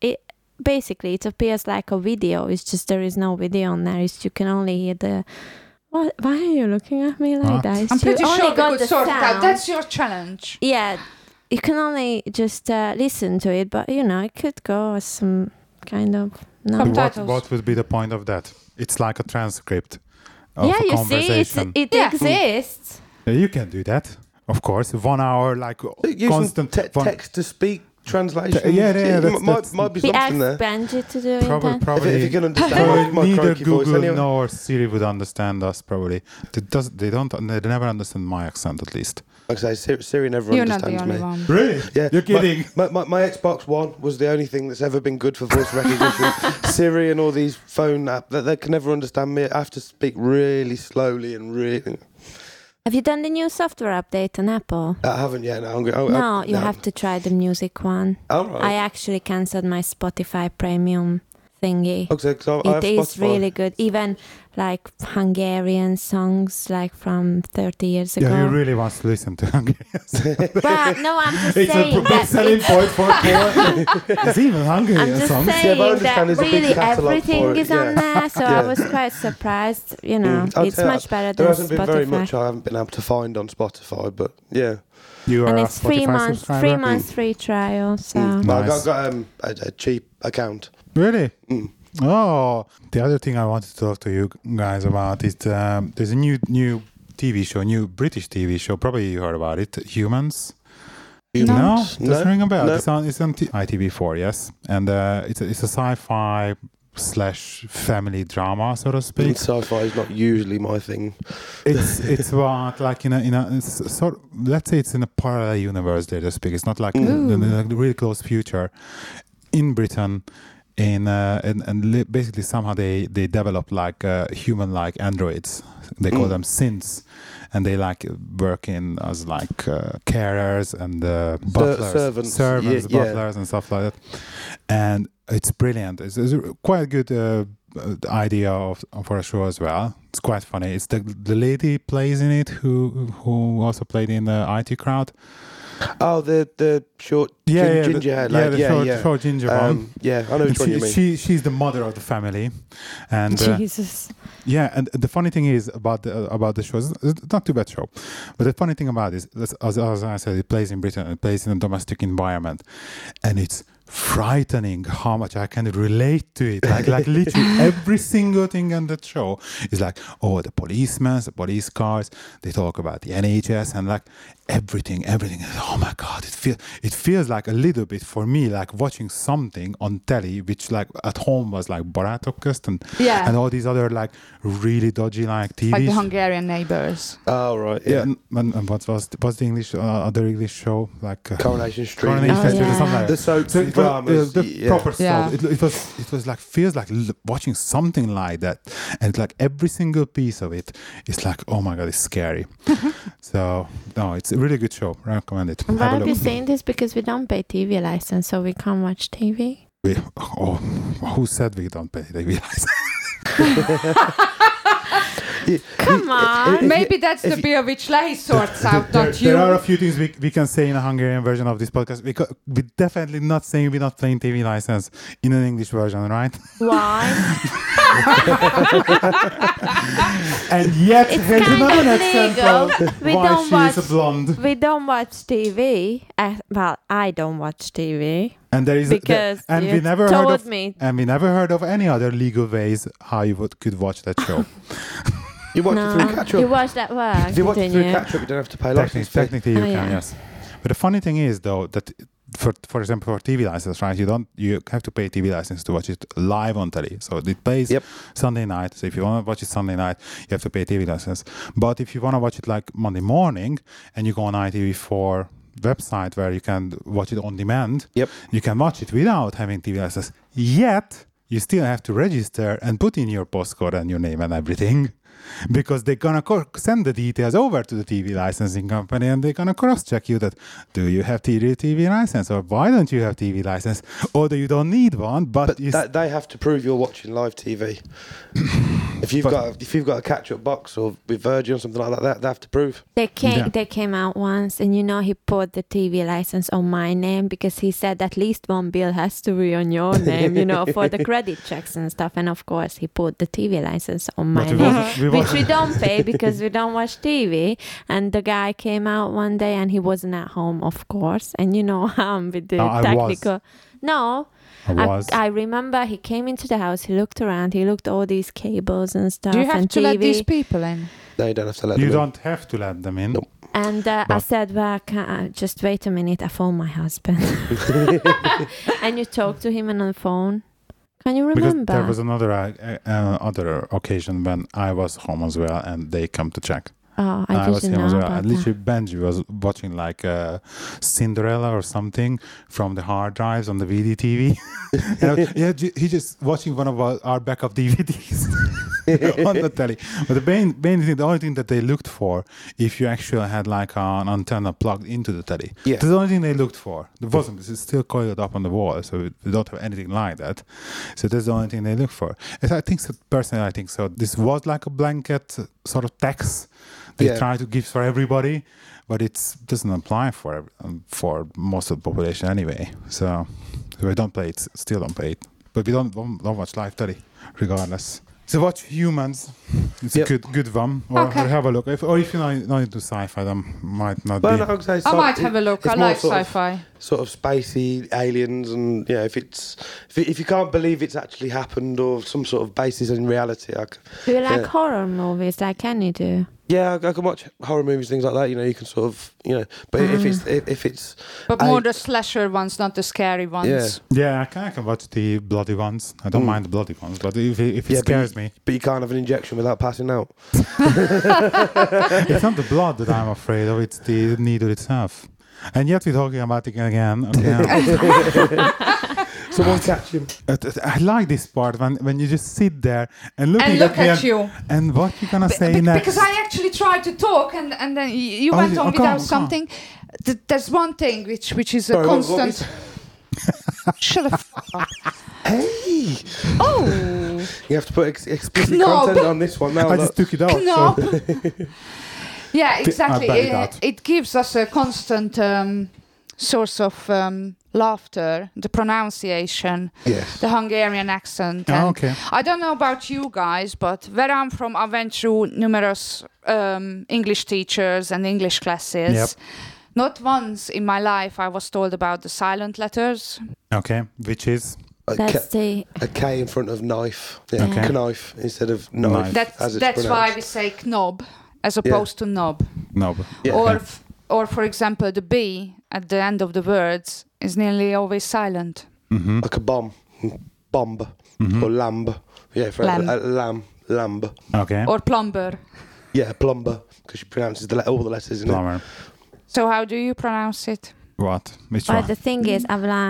S2: basically it appears like a video, it's just there is no video on there, you can only hear the... What? Why are you looking at me like
S1: What?
S2: that?
S3: I'm pretty
S2: You only
S3: sure we
S2: got
S3: could
S2: the
S3: sort it out.
S2: sound.
S3: That's your challenge.
S2: Yeah, you can only just listen to it, but you know, it could go as some kind of no.
S3: Subtitles.
S1: What would be the point of that? It's like a transcript of
S2: Yeah,
S1: a
S2: you see,
S1: conversation.
S2: it
S3: Yeah.
S2: exists.
S1: Yeah, you can do that, of course. 1 hour, like
S4: Use
S1: constant.
S4: text to speak translation.
S1: Yeah, that's-
S4: might be
S2: We
S4: something
S2: asked
S4: there.
S2: Benji to do it.
S1: Probably,
S2: then.
S1: probably.
S4: If you can understand
S1: probably
S4: my
S1: neither
S4: croaky voice
S1: Google
S4: anyway.
S1: nor Siri would understand us. Probably they never understand my accent, at least.
S4: Like I say, Siri never
S3: You're not the
S4: understands
S3: only
S4: me.
S3: one.
S1: Really?
S4: Yeah,
S1: You're kidding.
S4: My Xbox One was the only thing that's ever been good for voice recognition. Siri and all these phone apps, they can never understand me. I have to speak really slowly and really.
S2: Have you done the new software update on Apple?
S4: I haven't yet. No,
S2: No, you have to try the music one.
S4: All right.
S2: I actually cancelled my Spotify premium thingy.
S4: Okay, 'cause I have
S2: It is
S4: Spotify.
S2: really good. Even like Hungarian songs like from 30 years ago.
S1: Yeah, he really wants to listen to Hungarians.
S2: But no, I'm just
S1: It's a
S2: saying
S1: big
S2: that
S1: selling
S2: it's,
S1: point for Paul. It's even
S2: I'm
S1: Hungarian
S2: just
S1: songs.
S4: Yeah, but I
S2: saying
S4: understand
S2: that
S4: there's a big
S2: really
S4: catalogue
S2: everything
S4: for it,
S2: is on
S4: yeah.
S2: there, so
S4: Yeah.
S2: I was quite surprised. You know,
S4: I'll
S2: it's
S4: tell you,
S2: much better
S4: There
S2: than
S4: hasn't been very
S2: Spotify.
S4: much I haven't been able to find on Spotify, but yeah.
S1: You are
S2: And
S1: a
S2: it's 3
S1: Spotify
S2: months,
S1: subscriber?
S2: 3 months free trial. So
S4: But I
S1: Nice.
S4: got a cheap account.
S1: Really?
S4: Mm.
S1: Oh, the other thing I wanted to talk to you guys about is there's a new TV show, new British TV show. Probably you heard about it, Humans. No, doesn't ring a bell.
S4: No.
S1: It's on ITV4, yes, and it's a sci-fi / family drama, so to speak.
S4: Sci-fi is not usually my thing.
S1: It's about like in a it's sort. Let's say it's in a parallel universe, there to speak. It's not like the really close future in Britain. Basically somehow they develop like human-like androids. They call them synths, and they like work in as like carers and butlers,
S4: servants. Yeah.
S1: butlers and stuff like that. And it's brilliant. It's quite a good idea for a show as well. It's quite funny. It's the lady plays in it who also played in the IT Crowd.
S4: Oh, the short ginger haired lady.
S1: The short ginger one.
S4: Yeah, I know which one you mean.
S1: She's the mother of the family, and
S2: Jesus.
S1: yeah, and the funny thing is about the show, it's not too bad show, but the funny thing about it is, as I said, it plays in Britain, it plays in a domestic environment, and it's frightening how much I can relate to it. Like literally every single thing on that show is like, oh, the policemen, the police cars, they talk about the NHS and like everything. Oh my God, it feels like a little bit for me like watching something on telly, which like at home was like Barátok közt and all these other like really dodgy like TV.
S3: Like the Hungarian neighbors.
S4: Oh, right.
S1: Yeah,
S4: Yeah.
S1: and what's the English other English show like
S4: Coronation Street.
S1: Coronation
S2: Oh,
S1: Street or
S2: yeah.
S1: something like
S4: The
S1: that.
S4: soaps
S1: So
S4: and
S1: it was,
S4: dramas.
S1: the
S4: yeah.
S1: proper
S3: Yeah.
S1: stuff. It was like feels like watching something like that, and like every single piece of it is like, oh my God, it's scary. So no, it's a really good show. I recommend it.
S2: And why
S1: Have a
S2: are
S1: look.
S2: you saying this? Because we don't pay TV license, so we can't watch TV.
S1: Who said we don't pay TV license?
S2: Come on.
S3: Maybe that's the Beovich Lay sorts out, not you.
S1: There are a few things we can say in a Hungarian version of this podcast. We're definitely not saying we're not playing TV license in an English version, right?
S2: Why?
S1: And yet,
S2: It's
S1: here's
S2: kind
S1: another
S2: of
S1: example
S2: legal. We
S1: why
S2: don't
S1: she's
S2: watch.
S1: a blonde.
S2: We don't watch TV. Well, I don't watch TV
S1: And there is
S2: because
S1: and
S2: you
S1: we never
S2: told
S1: heard of
S2: me.
S1: and we never heard of any other legal ways how you could watch that show.
S4: You watch it through
S2: No,
S4: catch-up.
S2: you watched at work,
S4: If you watch it
S2: didn't
S4: through
S2: you?
S4: catch-up, you don't have to pay license fee.
S1: Technically, you
S2: Oh,
S1: can,
S2: yeah.
S1: yes. But the funny thing is, though, that for example, for TV license, right? You have to pay TV license to watch it live on telly. So it plays
S4: Yep.
S1: Sunday night. So if you want to watch it Sunday night, you have to pay TV license. But if you want to watch it like Monday morning, and you go on ITV4 website where you can watch it on demand,
S4: Yep.
S1: you can watch it without having TV license. Yet you still have to register and put in your postcode and your name and everything. Because they're gonna send the details over to the TV licensing company, and they're gonna cross-check you that do you have TV license, or why don't you have TV license, or do you don't need one, but you
S4: They have to prove you're watching live TV. if you've got a catch-up box or with Virgin or something like that, they have to prove.
S2: They came.
S1: Yeah.
S2: They came out once, and he put the TV license on my name because he said at least one bill has to be on your name, for the credit checks and stuff. And of course, he put the TV license on my
S1: But we
S2: name,
S1: wasn't- we
S2: which
S1: wasn't-
S2: we don't pay because we don't watch TV. And the guy came out one day, and he wasn't at home, of course. And how I'm with the
S1: I was.
S2: technical. No,
S1: I was.
S2: I remember he came into the house. He looked around. He looked all these cables and stuff.
S3: Do you have
S2: and
S3: to
S2: TV.
S3: let these people in?
S4: No, you don't have to let
S1: You
S4: them in.
S1: don't have to let them in.
S4: Nope.
S2: And I
S1: But-
S2: said, well, just wait a minute. I phoned my husband. And you talked to him on the phone. Can you
S1: Because
S2: remember?
S1: there was another other occasion when I was home as well, and they come to check.
S2: Oh,
S1: And
S2: I
S1: was
S2: didn't
S1: home as
S2: know
S1: well.
S2: about
S1: And literally,
S2: that.
S1: Benji was watching like Cinderella or something from the hard drives on the VDTV. He just watching one of our backup DVDs on the telly. But the main thing, the only thing that they looked for, if you actually had like an antenna plugged into the telly,
S4: Yeah.
S1: that's the only thing they looked for. There wasn't. It's still coiled up on the wall, so we don't have anything like that. So that's the only thing they look for. And I think so. Personally, I think so. This was like a blanket sort of tax. They
S4: Yeah.
S1: try to give for everybody, but it doesn't apply for most of the population anyway. So we don't pay it, still don't pay it. But we don't watch live telly, regardless. So watch Humans. It's
S4: Yep.
S1: a good one. Or
S3: Okay.
S1: have a look. If you're not into sci-fi, then might not
S4: Well,
S1: be.
S4: no, I'd say
S3: I might have a look. I
S4: it's more
S3: like
S4: sort of-
S3: sci-fi.
S4: Sort of spacey aliens, and if you can't believe it's actually happened or some sort of basis in reality,
S2: Do you like
S4: yeah.
S2: horror movies like Kenny do?
S4: I can watch horror movies, things like that. You can sort of, but if it's
S3: But
S4: I-
S3: more the slasher ones, not the scary ones.
S4: Yeah.
S1: Yeah, I can watch the bloody ones. I don't
S4: Mm.
S1: mind the bloody ones, but if it
S4: Yeah, but
S1: scares me,
S4: but you can't have an injection without passing out.
S1: it's not the blood that I'm afraid of; it's the needle itself. And yet we're talking about it again. Okay.
S4: Someone catch him.
S1: I like this part when you just sit there and looking
S3: And look
S1: me
S3: at you.
S1: and what you gonna say next.
S3: Because I actually tried to talk, and then you
S1: Oh,
S3: went
S1: you-
S3: on
S1: oh, come
S3: without
S1: on.
S3: something. There's one thing which is a
S4: Sorry, what
S3: constant. Shut the fuck.
S4: Hey,
S3: Oh,
S4: you have to put explicit
S3: Knob.
S4: content on this one now.
S1: I just took it out. so-
S3: knob. Yeah, exactly.
S1: bet that.
S3: It gives us a constant source of laughter, the pronunciation,
S4: Yes.
S3: the Hungarian accent.
S1: Oh,
S3: and
S1: okay.
S3: I don't know about you guys, but where I'm from, I went through numerous English teachers and English classes.
S1: Yep.
S3: Not once in my life I was told about the silent letters.
S1: Okay, which is
S2: That's the
S4: A K in front of knife. Yeah,
S2: Okay.
S4: knife instead of knife.
S1: Knife.
S3: That's
S4: as it's
S3: why
S4: pronounced.
S3: we say knob as opposed to knob.
S1: no. But
S4: Yeah.
S3: Or for example, the B at the end of the words is nearly always silent.
S1: Mhm.
S4: Like a bomb, bomb,
S1: Mhm.
S4: or lamb. Yeah, for
S3: Lamb.
S4: lamb.
S1: Okay.
S3: Or plumber.
S4: Yeah, plumber, because she pronounces all the letters in it.
S1: Plumber.
S3: So how do you pronounce it?
S1: What? Which
S2: But
S1: one?
S2: the thing is,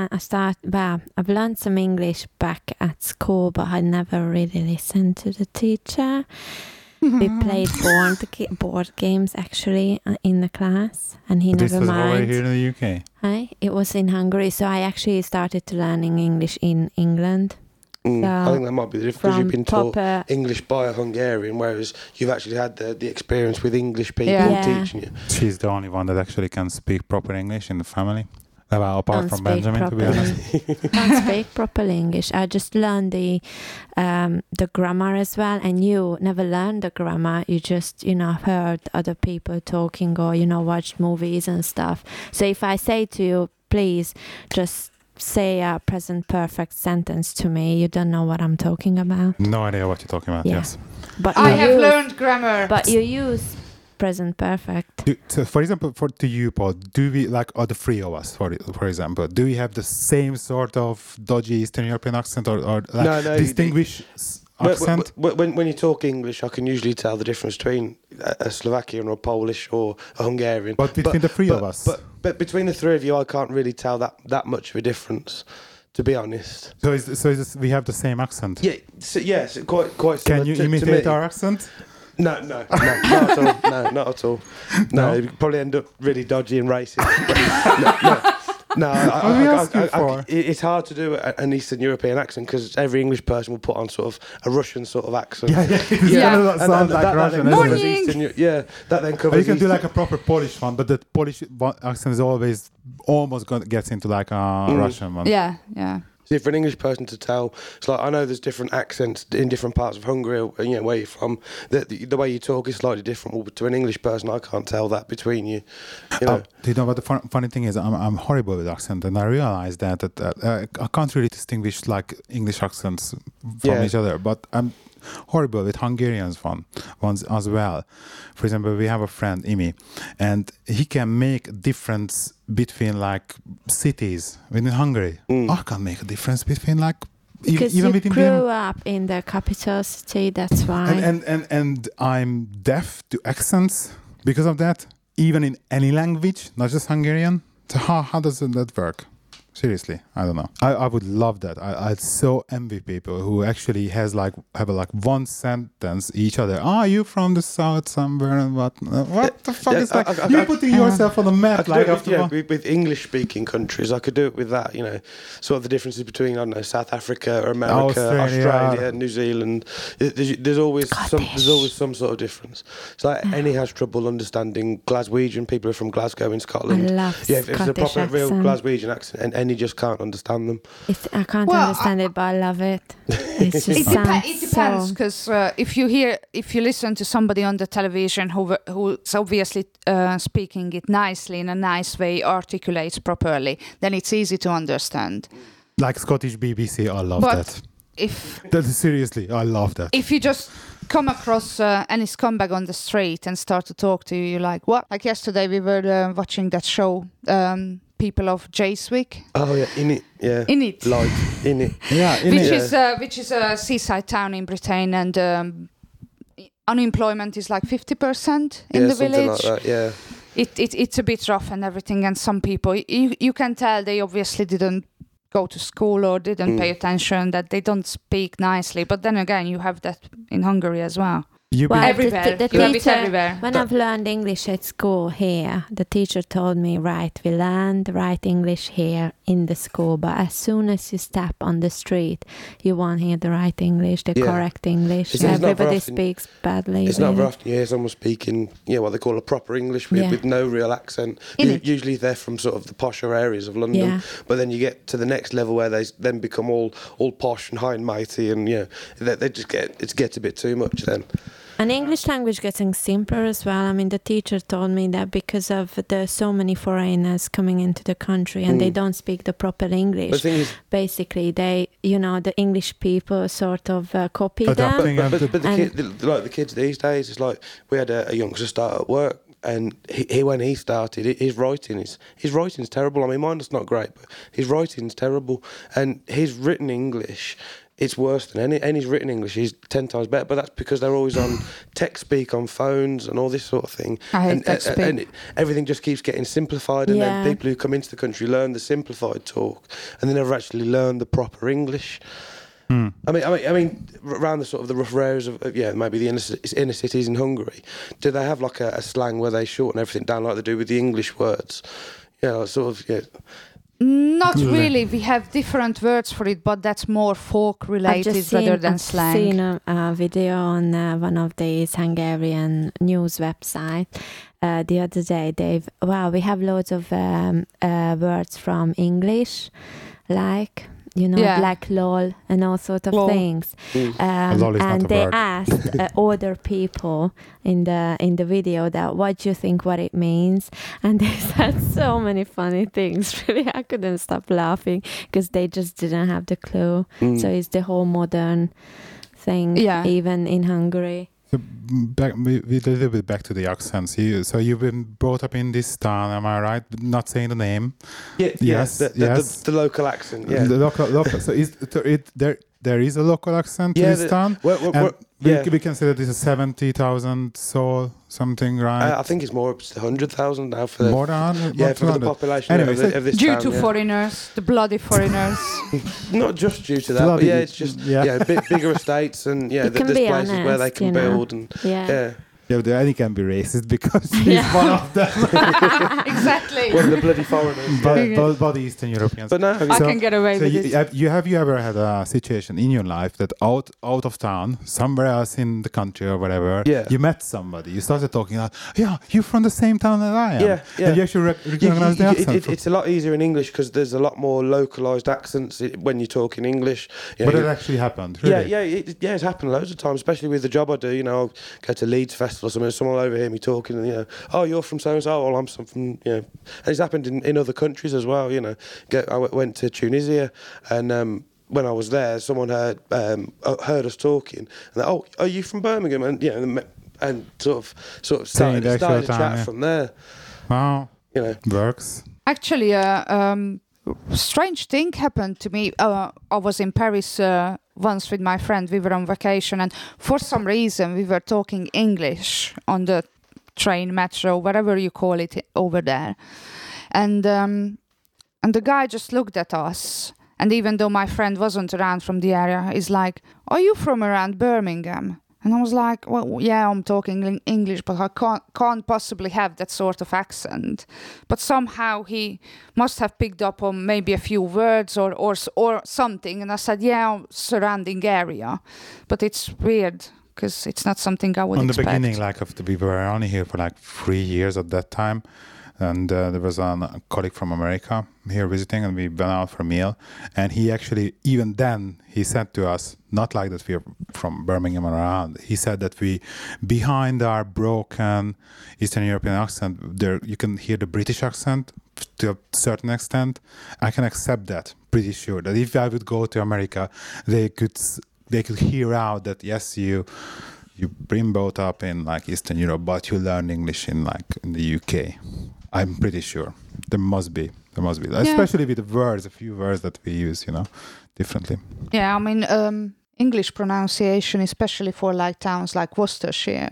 S2: I've learned some English back at school, but I never really listened to the teacher. We played board games actually in the class, and he
S1: This
S2: never
S1: was over
S2: mind.
S1: here in the UK.
S2: It was in Hungary, so I actually started to learning English in England.
S4: I
S2: So,
S4: think that might be the difference. You've
S2: From
S4: been taught
S2: proper,
S4: English by a Hungarian, whereas you've actually had the experience with English people
S3: Yeah.
S4: teaching you.
S1: She's the only one that actually can speak proper English in the family. Well, apart
S2: don't
S1: from
S2: speak
S1: Benjamin, to be
S2: properly.
S1: honest.
S2: Don't speak proper English. I just learned the grammar as well, and you never learned the grammar. You just heard other people talking, or watched movies and stuff. So if I say to you, please just say a present perfect sentence to me, you don't know what I'm talking about.
S1: No idea what you're talking about.
S2: Yeah.
S1: Yes.
S2: But
S3: I
S2: you
S3: have
S2: use-
S3: learned grammar.
S2: But you use present perfect.
S1: So, for example, to you, Paul, do we the three of us, for example, do we have the same sort of dodgy Eastern European accent or like
S4: No,
S1: distinguish accent?
S4: When you talk English, I can usually tell the difference between a Slovakian or a Polish or a Hungarian.
S1: But between the three of us.
S4: But between the three of you, I can't really tell that much of a difference, to be honest.
S1: So we have the same accent.
S4: Yeah, yes, quite
S1: Can
S4: similar
S1: you
S4: to
S1: imitate
S4: me.
S1: our accent?
S4: No, not at all. No, not at all. No,
S1: No?
S4: you probably end up really dodgy and racist. No,
S1: What are we asking for?
S4: it's hard to do an Eastern European accent because every English person will put on sort of a Russian sort of accent.
S1: It's
S3: Yeah.
S1: gonna not sound like
S4: that
S1: Russian,
S4: then
S1: isn't
S4: covers
S1: it?
S3: Morning.
S4: that then
S1: Or
S4: covers.
S1: you can do
S4: Eastern-
S1: like a proper Polish one, but the Polish accent is always almost gets into like a Russian one.
S3: yeah.
S4: See, for an English person to tell, it's like I know there's different accents in different parts of Hungary, or, where you're from. The way you talk is slightly different. Well, to an English person, I can't tell that between you. You know.
S1: Do you know what the funny thing is? I'm horrible with accent, and I realized that I can't really distinguish like English accents from
S4: Yeah.
S1: each other. But I'm horrible with Hungarians ones as well. For example, we have a friend Imi, and he can make a difference between like cities within Hungary. I can't make a difference between like
S2: Because
S1: even
S2: you
S1: within
S2: grew up in the capital city, that's why.
S1: and I'm deaf to accents because of that, even in any language, not just Hungarian. So how does that work? Seriously, I don't know. I would love that. I so envy people who actually have like one sentence each other. Are you from the south somewhere? And what the fuck
S4: Yeah,
S1: is like?
S4: I-
S1: You're putting yourself on the
S4: I
S1: map
S4: could
S1: like
S4: do it
S1: after
S4: with,
S1: one.
S4: with English-speaking countries. I could do it with that, sort of the differences between, I don't know, South Africa or America, Australia, New Zealand. There's always some sort of difference. It's like any has trouble understanding Glaswegian. People are from Glasgow in Scotland.
S2: I love
S4: if it's a
S2: Scottish
S4: proper real
S2: accent.
S4: Glaswegian accent, and he just can't understand them.
S2: I can't
S3: Well,
S2: understand it, but I love it. It just
S3: It
S2: sounds
S3: depends
S2: so.
S3: because if you listen to somebody on the television who's obviously speaking it nicely in a nice way, articulates properly, then it's easy to understand.
S1: Like Scottish BBC, I love
S3: But
S1: that.
S3: if
S1: Seriously, I love that.
S3: if you just come across any scumbag on the street and start to talk to you, you're like, what? Like yesterday we were watching that show, People of Jayswick.
S4: Oh yeah, in it, yeah,
S3: In it.
S4: like in it.
S1: Yeah,
S3: Which is a seaside town in Britain, and unemployment is like 50% in
S4: Yeah,
S3: the
S4: something
S3: village.
S4: like that. Yeah.
S3: It's a bit rough and everything, and some people you can tell they obviously didn't go to school or didn't pay attention, that they don't speak nicely. But then again, you have that in Hungary as well.
S1: You
S2: Well,
S3: Everywhere.
S2: The
S3: You have it
S2: teacher,
S3: everywhere.
S2: when I've learned English at school here, the teacher told me, right, we learn the right English here in the school, but as soon as you step on the street, you won't hear the right English, the
S4: Yeah.
S2: correct English.
S4: It's not very
S2: Everybody
S4: often-
S2: speaks badly.
S4: It's not
S2: really.
S4: very often you hear someone speaking, what they call a proper English with,
S2: Yeah.
S4: with no real accent.
S3: In it.
S4: Usually they're from sort of the posher areas of London,
S2: Yeah.
S4: but then you get to the next level where they then become all posh and high and mighty, and they just gets a bit too much then.
S2: And English language getting simpler as well. I mean, the teacher told me that because of the so many foreigners coming into the country and they don't speak the proper
S4: But
S2: English,
S4: the thing is,
S2: basically they, the English people sort of copy
S1: Adapting.
S2: them.
S4: but the,
S2: And-
S4: the kids these days, it's like we had a youngster start at work, and he when he started, his writing's terrible. I mean, mine's not great, but his writing's terrible, and his written English. It's worse than any. His written English is 10 times better, but that's because they're always on tech speak on phones and all this sort of thing.
S3: I hate
S4: and,
S3: tech speak.
S4: and everything just keeps getting simplified, and
S2: Yeah.
S4: then people who come into the country learn the simplified talk, and they never actually learn the proper English. I mean, around the sort of the rougher areas of maybe the inner cities in Hungary, do they have like a slang where they shorten everything down like they do with the English words?
S3: Not really. We have different words for it, but that's more folk
S2: I've
S3: related
S2: just
S3: rather than
S2: I've
S3: slang.
S2: seen a video on one of these Hungarian news websites the other day. We have loads of words from English, like
S3: Yeah.
S2: like lol and all sort of
S3: Lol.
S2: things.
S1: Lol is not
S2: And
S1: a
S2: they
S1: word.
S2: asked other people in the video that what do you think what it means, and they said so many funny things. Really, I couldn't stop laughing because they just didn't have the clue. So it's the whole modern thing,
S3: Yeah.
S2: even in Hungary.
S1: So back, we a little bit back to the accents. So you've been brought up in this town, am I right? Not saying the name.
S4: Yeah,
S1: Yes, yes.
S4: The local accent. Yeah,
S1: The local. So there is a local accent
S4: Yeah,
S1: to this town. And we consider this a 70,000 soul something, right?
S4: I think it's more up to 100,000 now for
S1: More than 100.
S4: yeah, for the population
S1: Anyway,
S4: of this
S3: Due
S4: town,
S3: to
S4: yeah.
S3: foreigners, the bloody foreigners.
S4: Not just due to that, but
S1: Bloody-
S4: yeah, it's just
S1: yeah.
S4: bigger estates and
S2: You can
S4: there's
S2: be
S4: places where they
S2: honest,
S4: can
S2: you know.
S4: build and
S2: Yeah.
S1: Yeah, but Eddie can be racist because he's one of them.
S3: Exactly.
S4: one of the bloody foreigners.
S1: But the Eastern Europeans.
S4: But no,
S3: I can get away
S1: So
S3: with it.
S1: have you ever had a situation in your life that out of town, somewhere else in the country or whatever,
S4: Yeah.
S1: you met somebody, you started talking like, yeah, you're from the same town that I am.
S4: Yeah, yeah.
S1: And you actually recognize the accent.
S4: it's a lot easier in English because there's a lot more localized accents when you talk in English. You know,
S1: But it
S4: you-
S1: actually happened, really.
S4: it's happened loads of times, especially with the job I do. You know, I'll go to Leeds Festival or something, someone will overhear me talking, and oh, you're from so and so. Well, I'm from and it's happened in other countries as well. You know, I went to Tunisia, and when I was there, someone heard us talking, and they, oh, are you from Birmingham? And and sort of
S1: Saying the
S4: started
S1: actual
S4: a
S1: town,
S4: chat
S1: yeah.
S4: from there.
S1: Wow,
S4: You know.
S1: works.
S3: Actually, strange thing happened to me. I was in Paris once with my friend. We were on vacation, and for some reason, we were talking English on the train, metro, whatever you call it over there. And the guy just looked at us. And even though my friend wasn't around from the area, he's like, "Are you from around Birmingham?" And I was like, "Well, yeah, I'm talking English, but I can't possibly have that sort of accent." But somehow he must have picked up on maybe a few words or something. And I said, "Yeah, surrounding area," but it's weird because it's not something I would
S1: On the
S3: expect.
S1: beginning, we were only here for 3 years at that time. And there was a colleague from America here visiting, and we went out for a meal. And he actually, even then, he said to us, not like that we're from Birmingham or around. He said that behind our broken Eastern European accent, there you can hear the British accent to a certain extent. I can accept that, pretty sure. That if I would go to America, they could hear out that, yes, you've been brought up in Eastern Europe, but you learn English in the UK. I'm pretty sure there must be, especially with the words, a few words that we use, differently.
S3: Yeah, I mean, English pronunciation, especially for towns like Worcestershire,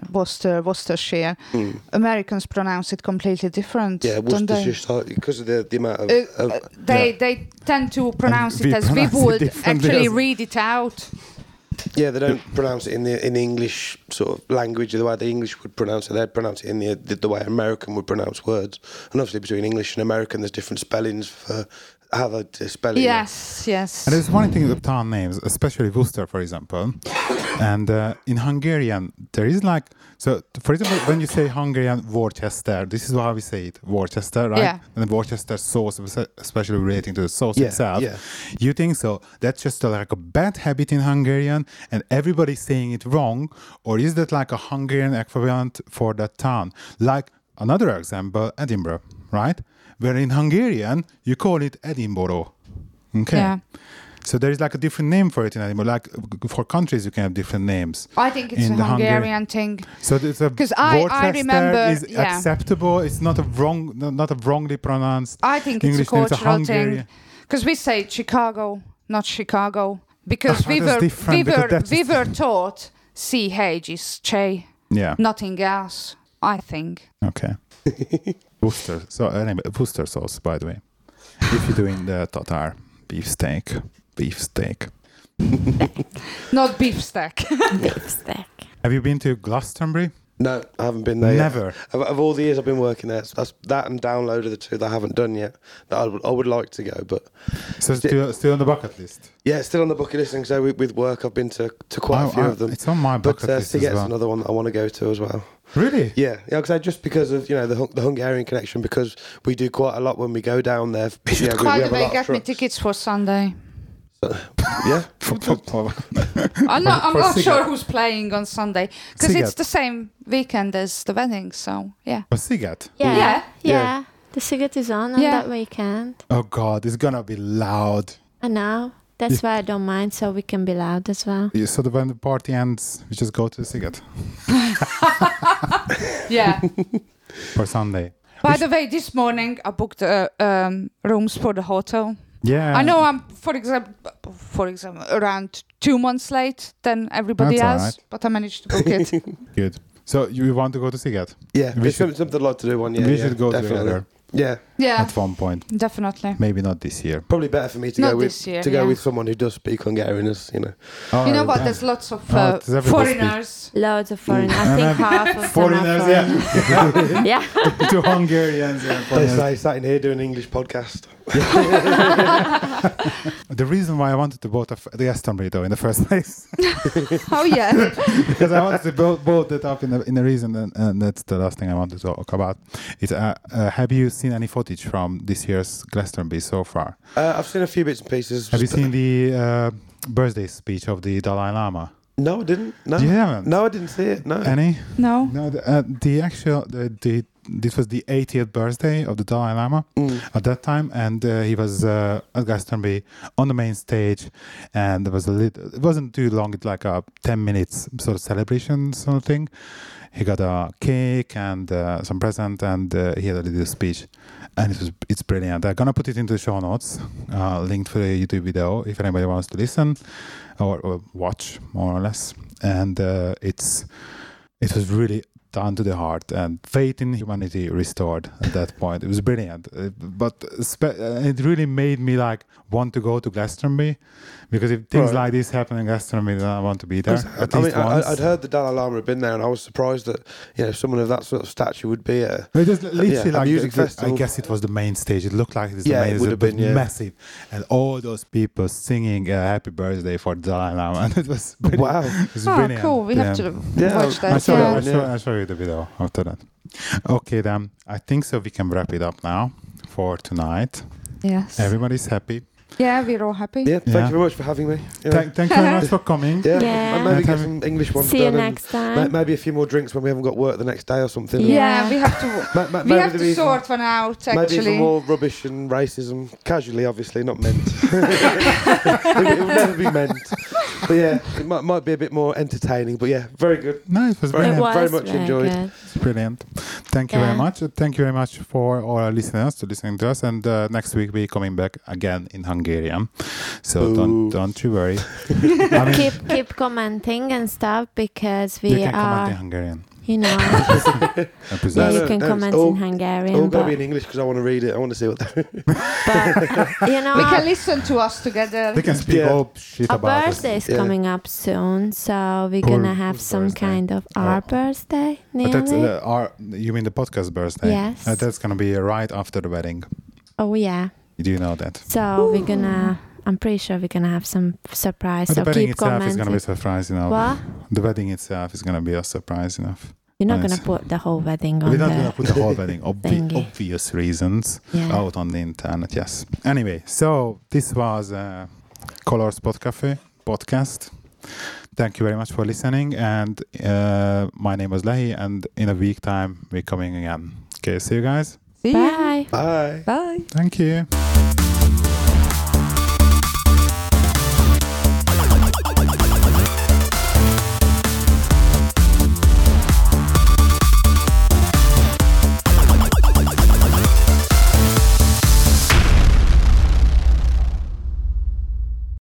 S3: Americans pronounce it completely different.
S4: Yeah,
S3: don't they?
S4: Worcestershire, because of the amount of...
S3: They tend to pronounce
S1: we
S3: it as we
S1: pronounce it
S3: would
S1: differently
S3: actually
S1: as-
S3: read it out.
S4: Yeah, they don't pronounce it in the English sort of language the way the English would pronounce it. They'd pronounce it in the way American would pronounce words. And obviously between English and American, there's different spellings for how they spell it.
S3: Yes.
S1: And there's one thing with town names, especially Worcester, for example. And in Hungarian, there is for example, when you say Hungarian Worcester, this is how we say it, Worcester, right?
S3: Yeah.
S1: And the Worcester sauce, especially relating to the sauce
S4: Yeah,
S1: itself.
S4: yeah.
S1: You think so? That's just a bad habit in Hungarian and everybody's saying it wrong? Or is that a Hungarian equivalent for that town? Like another example, Edinburgh, right? Where in Hungarian, you call it Edinburgh. Okay.
S3: Yeah.
S1: So there is a different name for it in Edinburgh. For countries, you can have different names.
S3: I think it's
S1: In
S3: a
S1: the
S3: Hungarian thing.
S1: So it's a
S3: 'Cause I remember-
S1: is
S3: yeah.
S1: acceptable. It's not a wrongly pronounced.
S3: I think
S1: English
S3: it's a
S1: name.
S3: cultural
S1: Hungarian.
S3: thing. Because we say Chicago, not Chicago. Because we
S1: That's
S3: were
S1: different, because that's
S3: we
S1: just-
S3: were taught CH is che,
S1: Yeah.
S3: nothing else, I think.
S1: Okay. Worcester. So anyway, Worcester sauce, by the way. If you're doing the Tatar beefsteak.
S3: Not beef stack.
S2: Beefsteak.
S1: Have you been to Glastonbury?
S4: No, I haven't been there
S1: Never.
S4: yet. Of all the years I've been working there, that's that and Download are the two that I haven't done yet. That I would like to go, but
S1: So still on the bucket list.
S4: yeah, it's still on the bucket list. And so with work, I've been to quite a few of them.
S1: It's on my
S4: But
S1: bucket list as
S4: Siget's
S1: well.
S4: another one that I want to go to as well.
S1: Really?
S4: Yeah, just because of the Hungarian connection, because we do quite a lot when we go down there.
S3: By the way, get me tickets for Sunday.
S4: Yeah.
S3: I'm not
S1: For
S3: sure who's playing on Sunday because it's
S1: Siget.
S3: the same weekend as the wedding. So yeah.
S1: For Siget.
S2: Yeah.
S3: Yeah.
S2: Yeah. The Siget is on
S3: Yeah.
S2: that weekend.
S1: Oh God, it's gonna be loud.
S2: I know. That's why I don't mind, so we can be loud as well.
S1: Yeah, so when the party ends, we just go to the Siget
S3: Yeah.
S1: for Sunday.
S3: By the way, this morning I booked rooms for the hotel.
S1: Yeah.
S3: I know I'm, for example, around 2 months late than everybody
S1: That's all
S3: else,
S1: right.
S3: but I managed to book it.
S1: Good. So you want to go to Siget?
S4: Yeah,
S1: We
S4: it's
S1: should-
S4: something I'd like to do one year.
S1: we
S4: yeah,
S1: should go
S4: definitely.
S1: together
S4: Yeah,
S3: Yeah,
S1: at one point.
S3: definitely.
S1: Maybe not this year.
S4: probably better for me to
S3: Not
S4: go with
S3: this year,
S4: to go
S3: yeah.
S4: with someone who does speak Hungarian, as you know.
S1: Oh,
S3: You know what?
S1: yeah.
S3: There's lots of
S1: Oh, does everybody speak?
S3: foreigners.
S2: Loads of foreigners. I
S1: And
S2: think
S1: then
S2: half of
S1: foreigners,
S2: them are foreigners. Yeah.
S1: to Hungarians. Yeah,
S4: They
S1: foreigners.
S4: say sat in here doing an English podcast.
S1: The reason why I wanted to vote the Glastonbury though in the first place
S3: Oh yeah.
S1: because I wanted to build it up in the reason, and that's the last thing I want to talk about. Is have you seen any footage from this year's Glastonbury so far?
S4: I've seen a few bits and pieces.
S1: Have you seen the birthday speech of the Dalai Lama?
S4: No, I didn't. No,
S1: You haven't?
S4: no, I didn't see it. No.
S1: Any?
S3: No.
S1: No. This was the 80th birthday of the Dalai Lama at that time, and he was at Glastonbury on the main stage, and there was it wasn't too long, it's like a 10 minutes sort of celebration sort of thing. He got a cake and some present, and he had a little speech, and it's brilliant. I'm gonna put it into the show notes, link to the YouTube video if anybody wants to listen or watch more or less. And it was really done to the heart, and faith in humanity restored at that point. It was brilliant, but it really made me like want to go to Glastonbury, because if things
S4: Right.
S1: like this happen in Glastonbury, then I want to be there at
S4: I
S1: least
S4: mean,
S1: once.
S4: I'd heard the Dalai Lama had been there, and I was surprised that someone of that sort of stature would be a
S1: It was literally
S4: a
S1: like
S4: music festival.
S1: I guess it was the main stage. It looked like it was
S4: Yeah,
S1: the main
S4: it would have been, yeah.
S1: massive, and all those people singing "Happy Birthday" for Dalai Lama, and it was brilliant.
S4: wow.
S1: It was
S3: Oh,
S1: brilliant.
S3: cool. We have to
S4: Yeah,
S3: watch
S1: I'll
S3: that.
S1: show,
S3: Yeah.
S1: I'll show you the video after that. Okay, then I think so. We can wrap it up now for tonight.
S3: Yes.
S1: Everybody's happy.
S3: Yeah, we're all happy.
S4: Yeah, thank
S1: Yeah.
S4: you very much for having me.
S1: Thank you very much for coming.
S4: Yeah,
S2: Yeah.
S4: maybe
S1: Yeah.
S4: get some English ones
S2: See you
S4: done, and
S2: next time.
S4: maybe a few more drinks when we haven't got work the next day or something.
S3: Yeah, we have to. We
S4: Maybe
S3: have to
S4: there'll be
S3: sort one out.
S4: Maybe
S3: Actually.
S4: even more rubbish and racism, casually, obviously, not meant. it will never be meant. But yeah, it might be a bit more entertaining. But yeah, very good.
S1: No, it was
S4: Very-
S2: It
S1: brilliant.
S2: was
S4: very much
S2: very
S4: enjoyed.
S2: good.
S1: It's brilliant. Thank you very
S2: Yeah.
S1: much. Thank you very much for all our listeners to listening to us. And next week we're coming back again in Hungarian. So
S4: Ooh.
S1: don't you worry. I mean,
S2: Keep commenting and stuff, because
S1: you
S2: we
S1: can comment
S2: are,
S1: in Hungarian.
S2: you know,
S1: I
S2: yeah,
S1: presume.
S2: you
S4: no,
S2: can
S4: no,
S2: comment
S4: it's all-
S2: in Hungarian,
S4: All got to
S2: but,
S4: be in English because I want to read it. I want to see what.
S2: but you know,
S3: We can listen to us together.
S1: They can speak
S4: Yeah.
S1: all shit
S2: our
S1: about us.
S2: birthday is
S4: Yeah.
S2: coming up soon, so we're
S1: Cool.
S2: gonna have
S1: Whose
S2: some
S1: birthday?
S2: kind of our birthday
S1: But that's
S2: nearly.
S1: you mean the podcast birthday?
S2: Yes.
S1: That's gonna be right after the wedding.
S2: Oh yeah.
S1: Do you know that?
S2: So we're gonna. I'm pretty sure we're gonna have some surprise.
S1: But
S2: So
S1: the wedding
S2: keep
S1: itself is
S2: commenting.
S1: gonna be a surprise enough.
S2: What?
S1: The wedding itself is gonna be a surprise enough.
S2: You're not
S1: Nice.
S2: gonna put the whole wedding on
S1: We're not gonna
S2: the.
S1: put the whole wedding,
S2: thingy.
S1: obvious reasons,
S2: Yeah.
S1: out on the internet. Yes. Anyway, so this was Colors podcast. Thank you very much for listening. And my name was Lehi, and in a week time we're coming again. Okay, see you guys.
S3: See ya.
S2: Bye.
S4: Bye.
S3: Bye.
S1: Thank you.